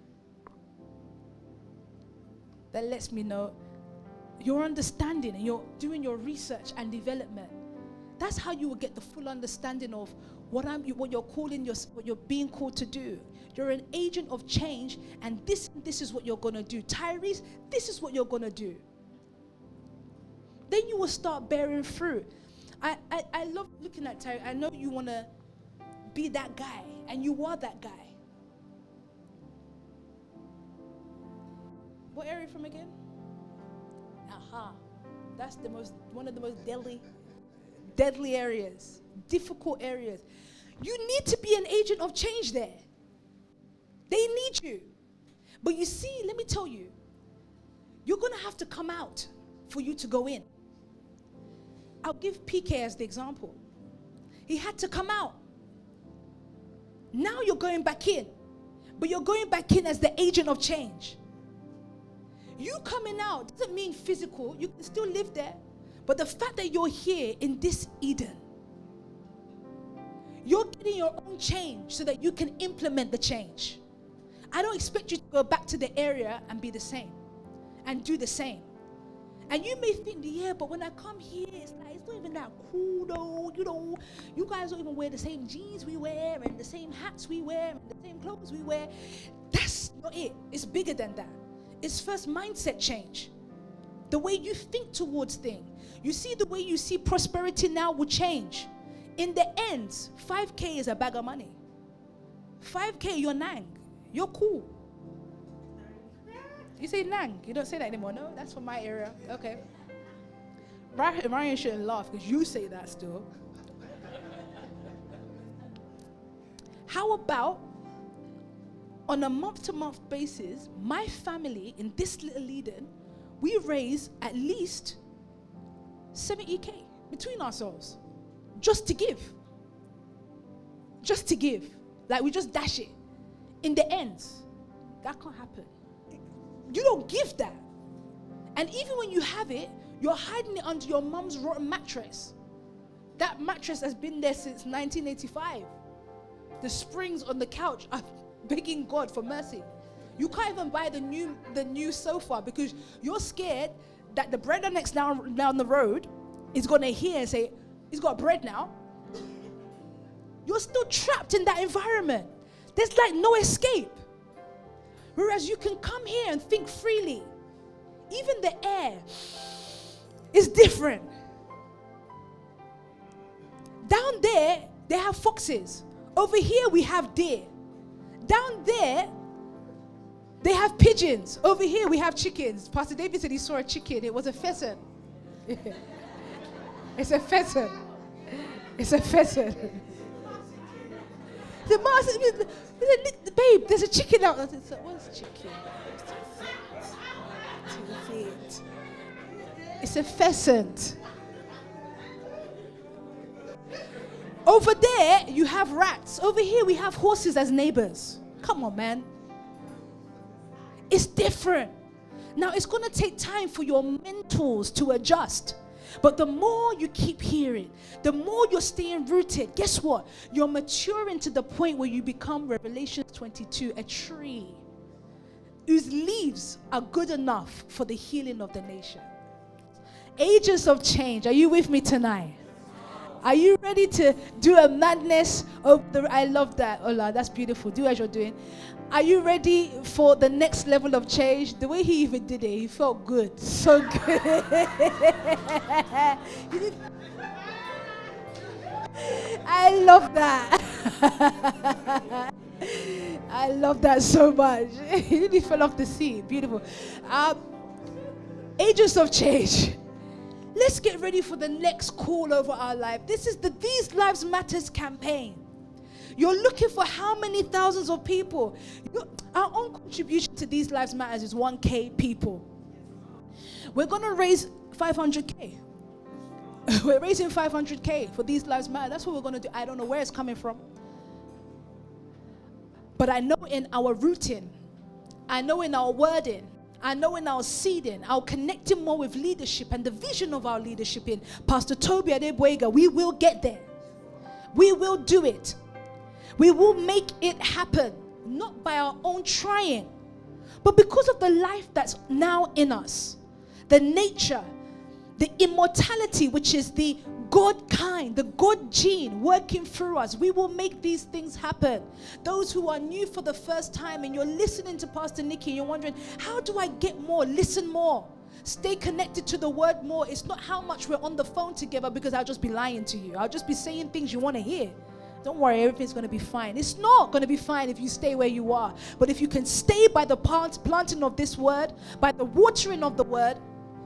That lets me know your understanding and you're doing your research and development. That's how you will get the full understanding of what I'm, what you're calling, your, what you're being called to do. You're an agent of change, and this, this is what you're going to do. Tyrese, this is what you're going to do. Then you will start bearing fruit. I, I, I love looking at Tyrese. I know you want to be that guy, and you are that guy. What area from again? Aha. That's the most, one of the most deadly, deadly areas, difficult areas. You need to be an agent of change there. They need you. But you see, let me tell you, you're going to have to come out for you to go in. I'll give P K as the example. He had to come out. Now you're going back in. But you're going back in as the agent of change. You coming out doesn't mean physical. You can still live there. But the fact that you're here in this Eden, you're getting your own change so that you can implement the change. I don't expect you to go back to the area and be the same and do the same. And you may think, yeah, but when I come here, it's like, it's not even that cool though. You know, you guys don't even wear the same jeans we wear and the same hats we wear and the same clothes we wear. That's not it. It's bigger than that. It's first mindset change. The way you think towards things. You see, the way you see prosperity now will change. In the end, five K is a bag of money. five K, you're nang. You're cool. You say nang. You don't say that anymore. No, that's from my area. Okay. Ryan shouldn't laugh because you say that still. How about on a month-to-month basis, my family in this little Eden, we raise at least seventy K between ourselves just to give. Just to give. Like we just dash it. In the end, that can't happen. You don't give that. And even when you have it, you're hiding it under your mom's rotten mattress. That mattress has been there since nineteen eighty-five. The springs on the couch are begging God for mercy. You can't even buy the new the new sofa because you're scared that the bread next down, down the road is going to hear and say, he's got bread now. You're still trapped in that environment. There's like no escape. Whereas you can come here and think freely. Even the air is different. Down there, they have foxes. Over here, we have deer. Down there, they have pigeons. Over here, we have chickens. Pastor David said he saw a chicken. It was a pheasant. It's a pheasant. It's a pheasant. The master, the babe, there's a chicken out there. What's chicken? It's a pheasant. Over there, you have rats. Over here, we have horses as neighbors. Come on, man. It's different. Now, it's going to take time for your mentals to adjust. But the more you keep hearing, the more you're staying rooted, guess what? You're maturing to the point where you become, Revelation twenty-two, a tree whose leaves are good enough for the healing of the nation. Agents of change. Are you with me tonight? Are you ready to do a madness of the... I love that. Ola, that's beautiful. Do as you're doing. Are you ready for the next level of change? The way he even did it, he felt good. So good. I love that. I love that so much. He really fell off the seat. Beautiful. Um, agents of change. Let's get ready for the next call over our life. This is the These Lives Matters campaign. You're looking for how many thousands of people? You're, our own contribution to These Lives Matters is one K people. We're going to raise five hundred K. We're raising five hundred K for These Lives Matter. That's what we're going to do. I don't know where it's coming from. But I know in our routine, I know in our wording, I know in our seeding, our connecting more with leadership and the vision of our leadership in Pastor Toby Adeboyega, we will get there. We will do it. We will make it happen, not by our own trying, but because of the life that's now in us, the nature, the immortality, which is the God kind, the God gene working through us. We will make these things happen. Those who are new for the first time and you're listening to Pastor Nikki and you're wondering, how do I get more? Listen more. Stay connected to the word more. It's not how much we're on the phone together, because I'll just be lying to you. I'll just be saying things you want to hear. Don't worry, everything's going to be fine. It's not going to be fine if you stay where you are. But if you can stay by the plant, planting of this word, by the watering of the word,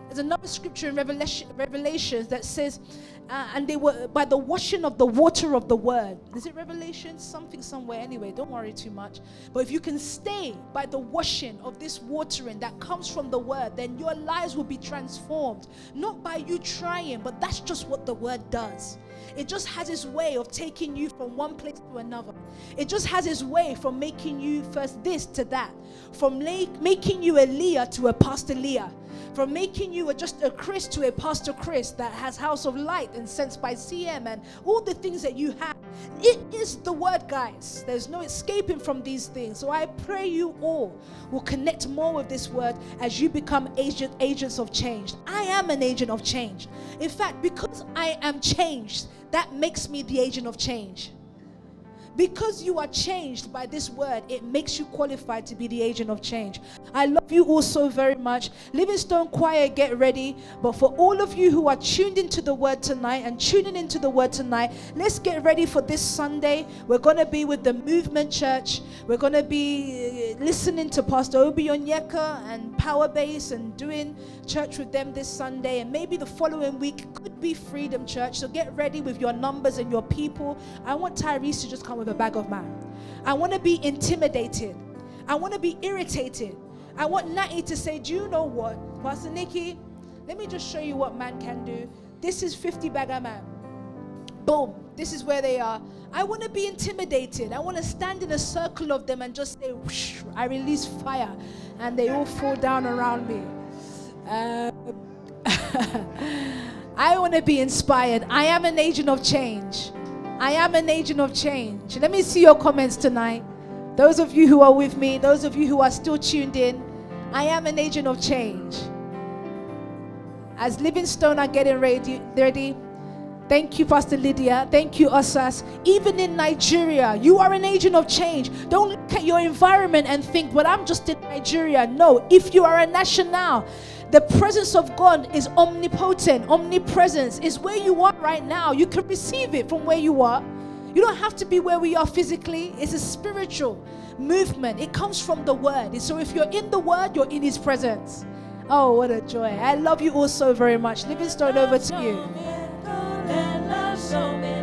There's another scripture in Revelation, Revelations that says, uh, and they were by the washing of the water of the word. Is it Revelation? Something somewhere. Anyway, don't worry too much. But if you can stay by the washing of this watering that comes from the word, then your lives will be transformed. Not by you trying, but that's just what the word does. It just has its way of taking you from one place to another. It just has its way from making you first this to that. From like, making you a Leah to a Pastor Leah. From making you a, just a Chris to a Pastor Chris that has House of Light and Sense by C M and all the things that you have. It is the word, guys. There's no escaping from these things. So I pray you all will connect more with this word as you become agent, agents of change. I am an agent of change. In fact, because I am changed, that makes me the agent of change. Because you are changed by this word, it makes you qualified to be the agent of change. I love you all so very much. Livingstone Choir, get ready. But for all of you who are tuned into the word tonight and tuning into the word tonight, let's get ready for this Sunday. We're going to be with the Movement Church. We're going to be listening to Pastor Obi Onyeka and Power Base and doing church with them this Sunday. And maybe the following week could be Freedom Church. So get ready with your numbers and your people. I want Tyrese to just come with a bag of man. I want to be intimidated. I want to be irritated. I want Natty to say, do you know what, Pastor Nikki, let me just show you what man can do. This is fifty bagger man. Boom. This is where they are. I want to be intimidated. I want to stand in a circle of them and just say, whoosh, I release fire. And they all fall down around me. Uh, I want to be inspired. I am an agent of change. I am an agent of change. Let me see your comments tonight. Those of you who are with me, those of you who are still tuned in, I am an agent of change. As Livingstone are getting ready, ready, thank you, Pastor Lydia. Thank you, Osas. Even in Nigeria, you are an agent of change. Don't look at your environment and think, well, I'm just in Nigeria. No, if you are a national, the presence of God is omnipotent. Omnipresence is where you are right now. You can receive it from where you are. You don't have to be where we are physically. It's a spiritual movement. It comes from the word. And so if you're in the word, you're in his presence. Oh, what a joy. I love you all so very much. Livingstone, over to you.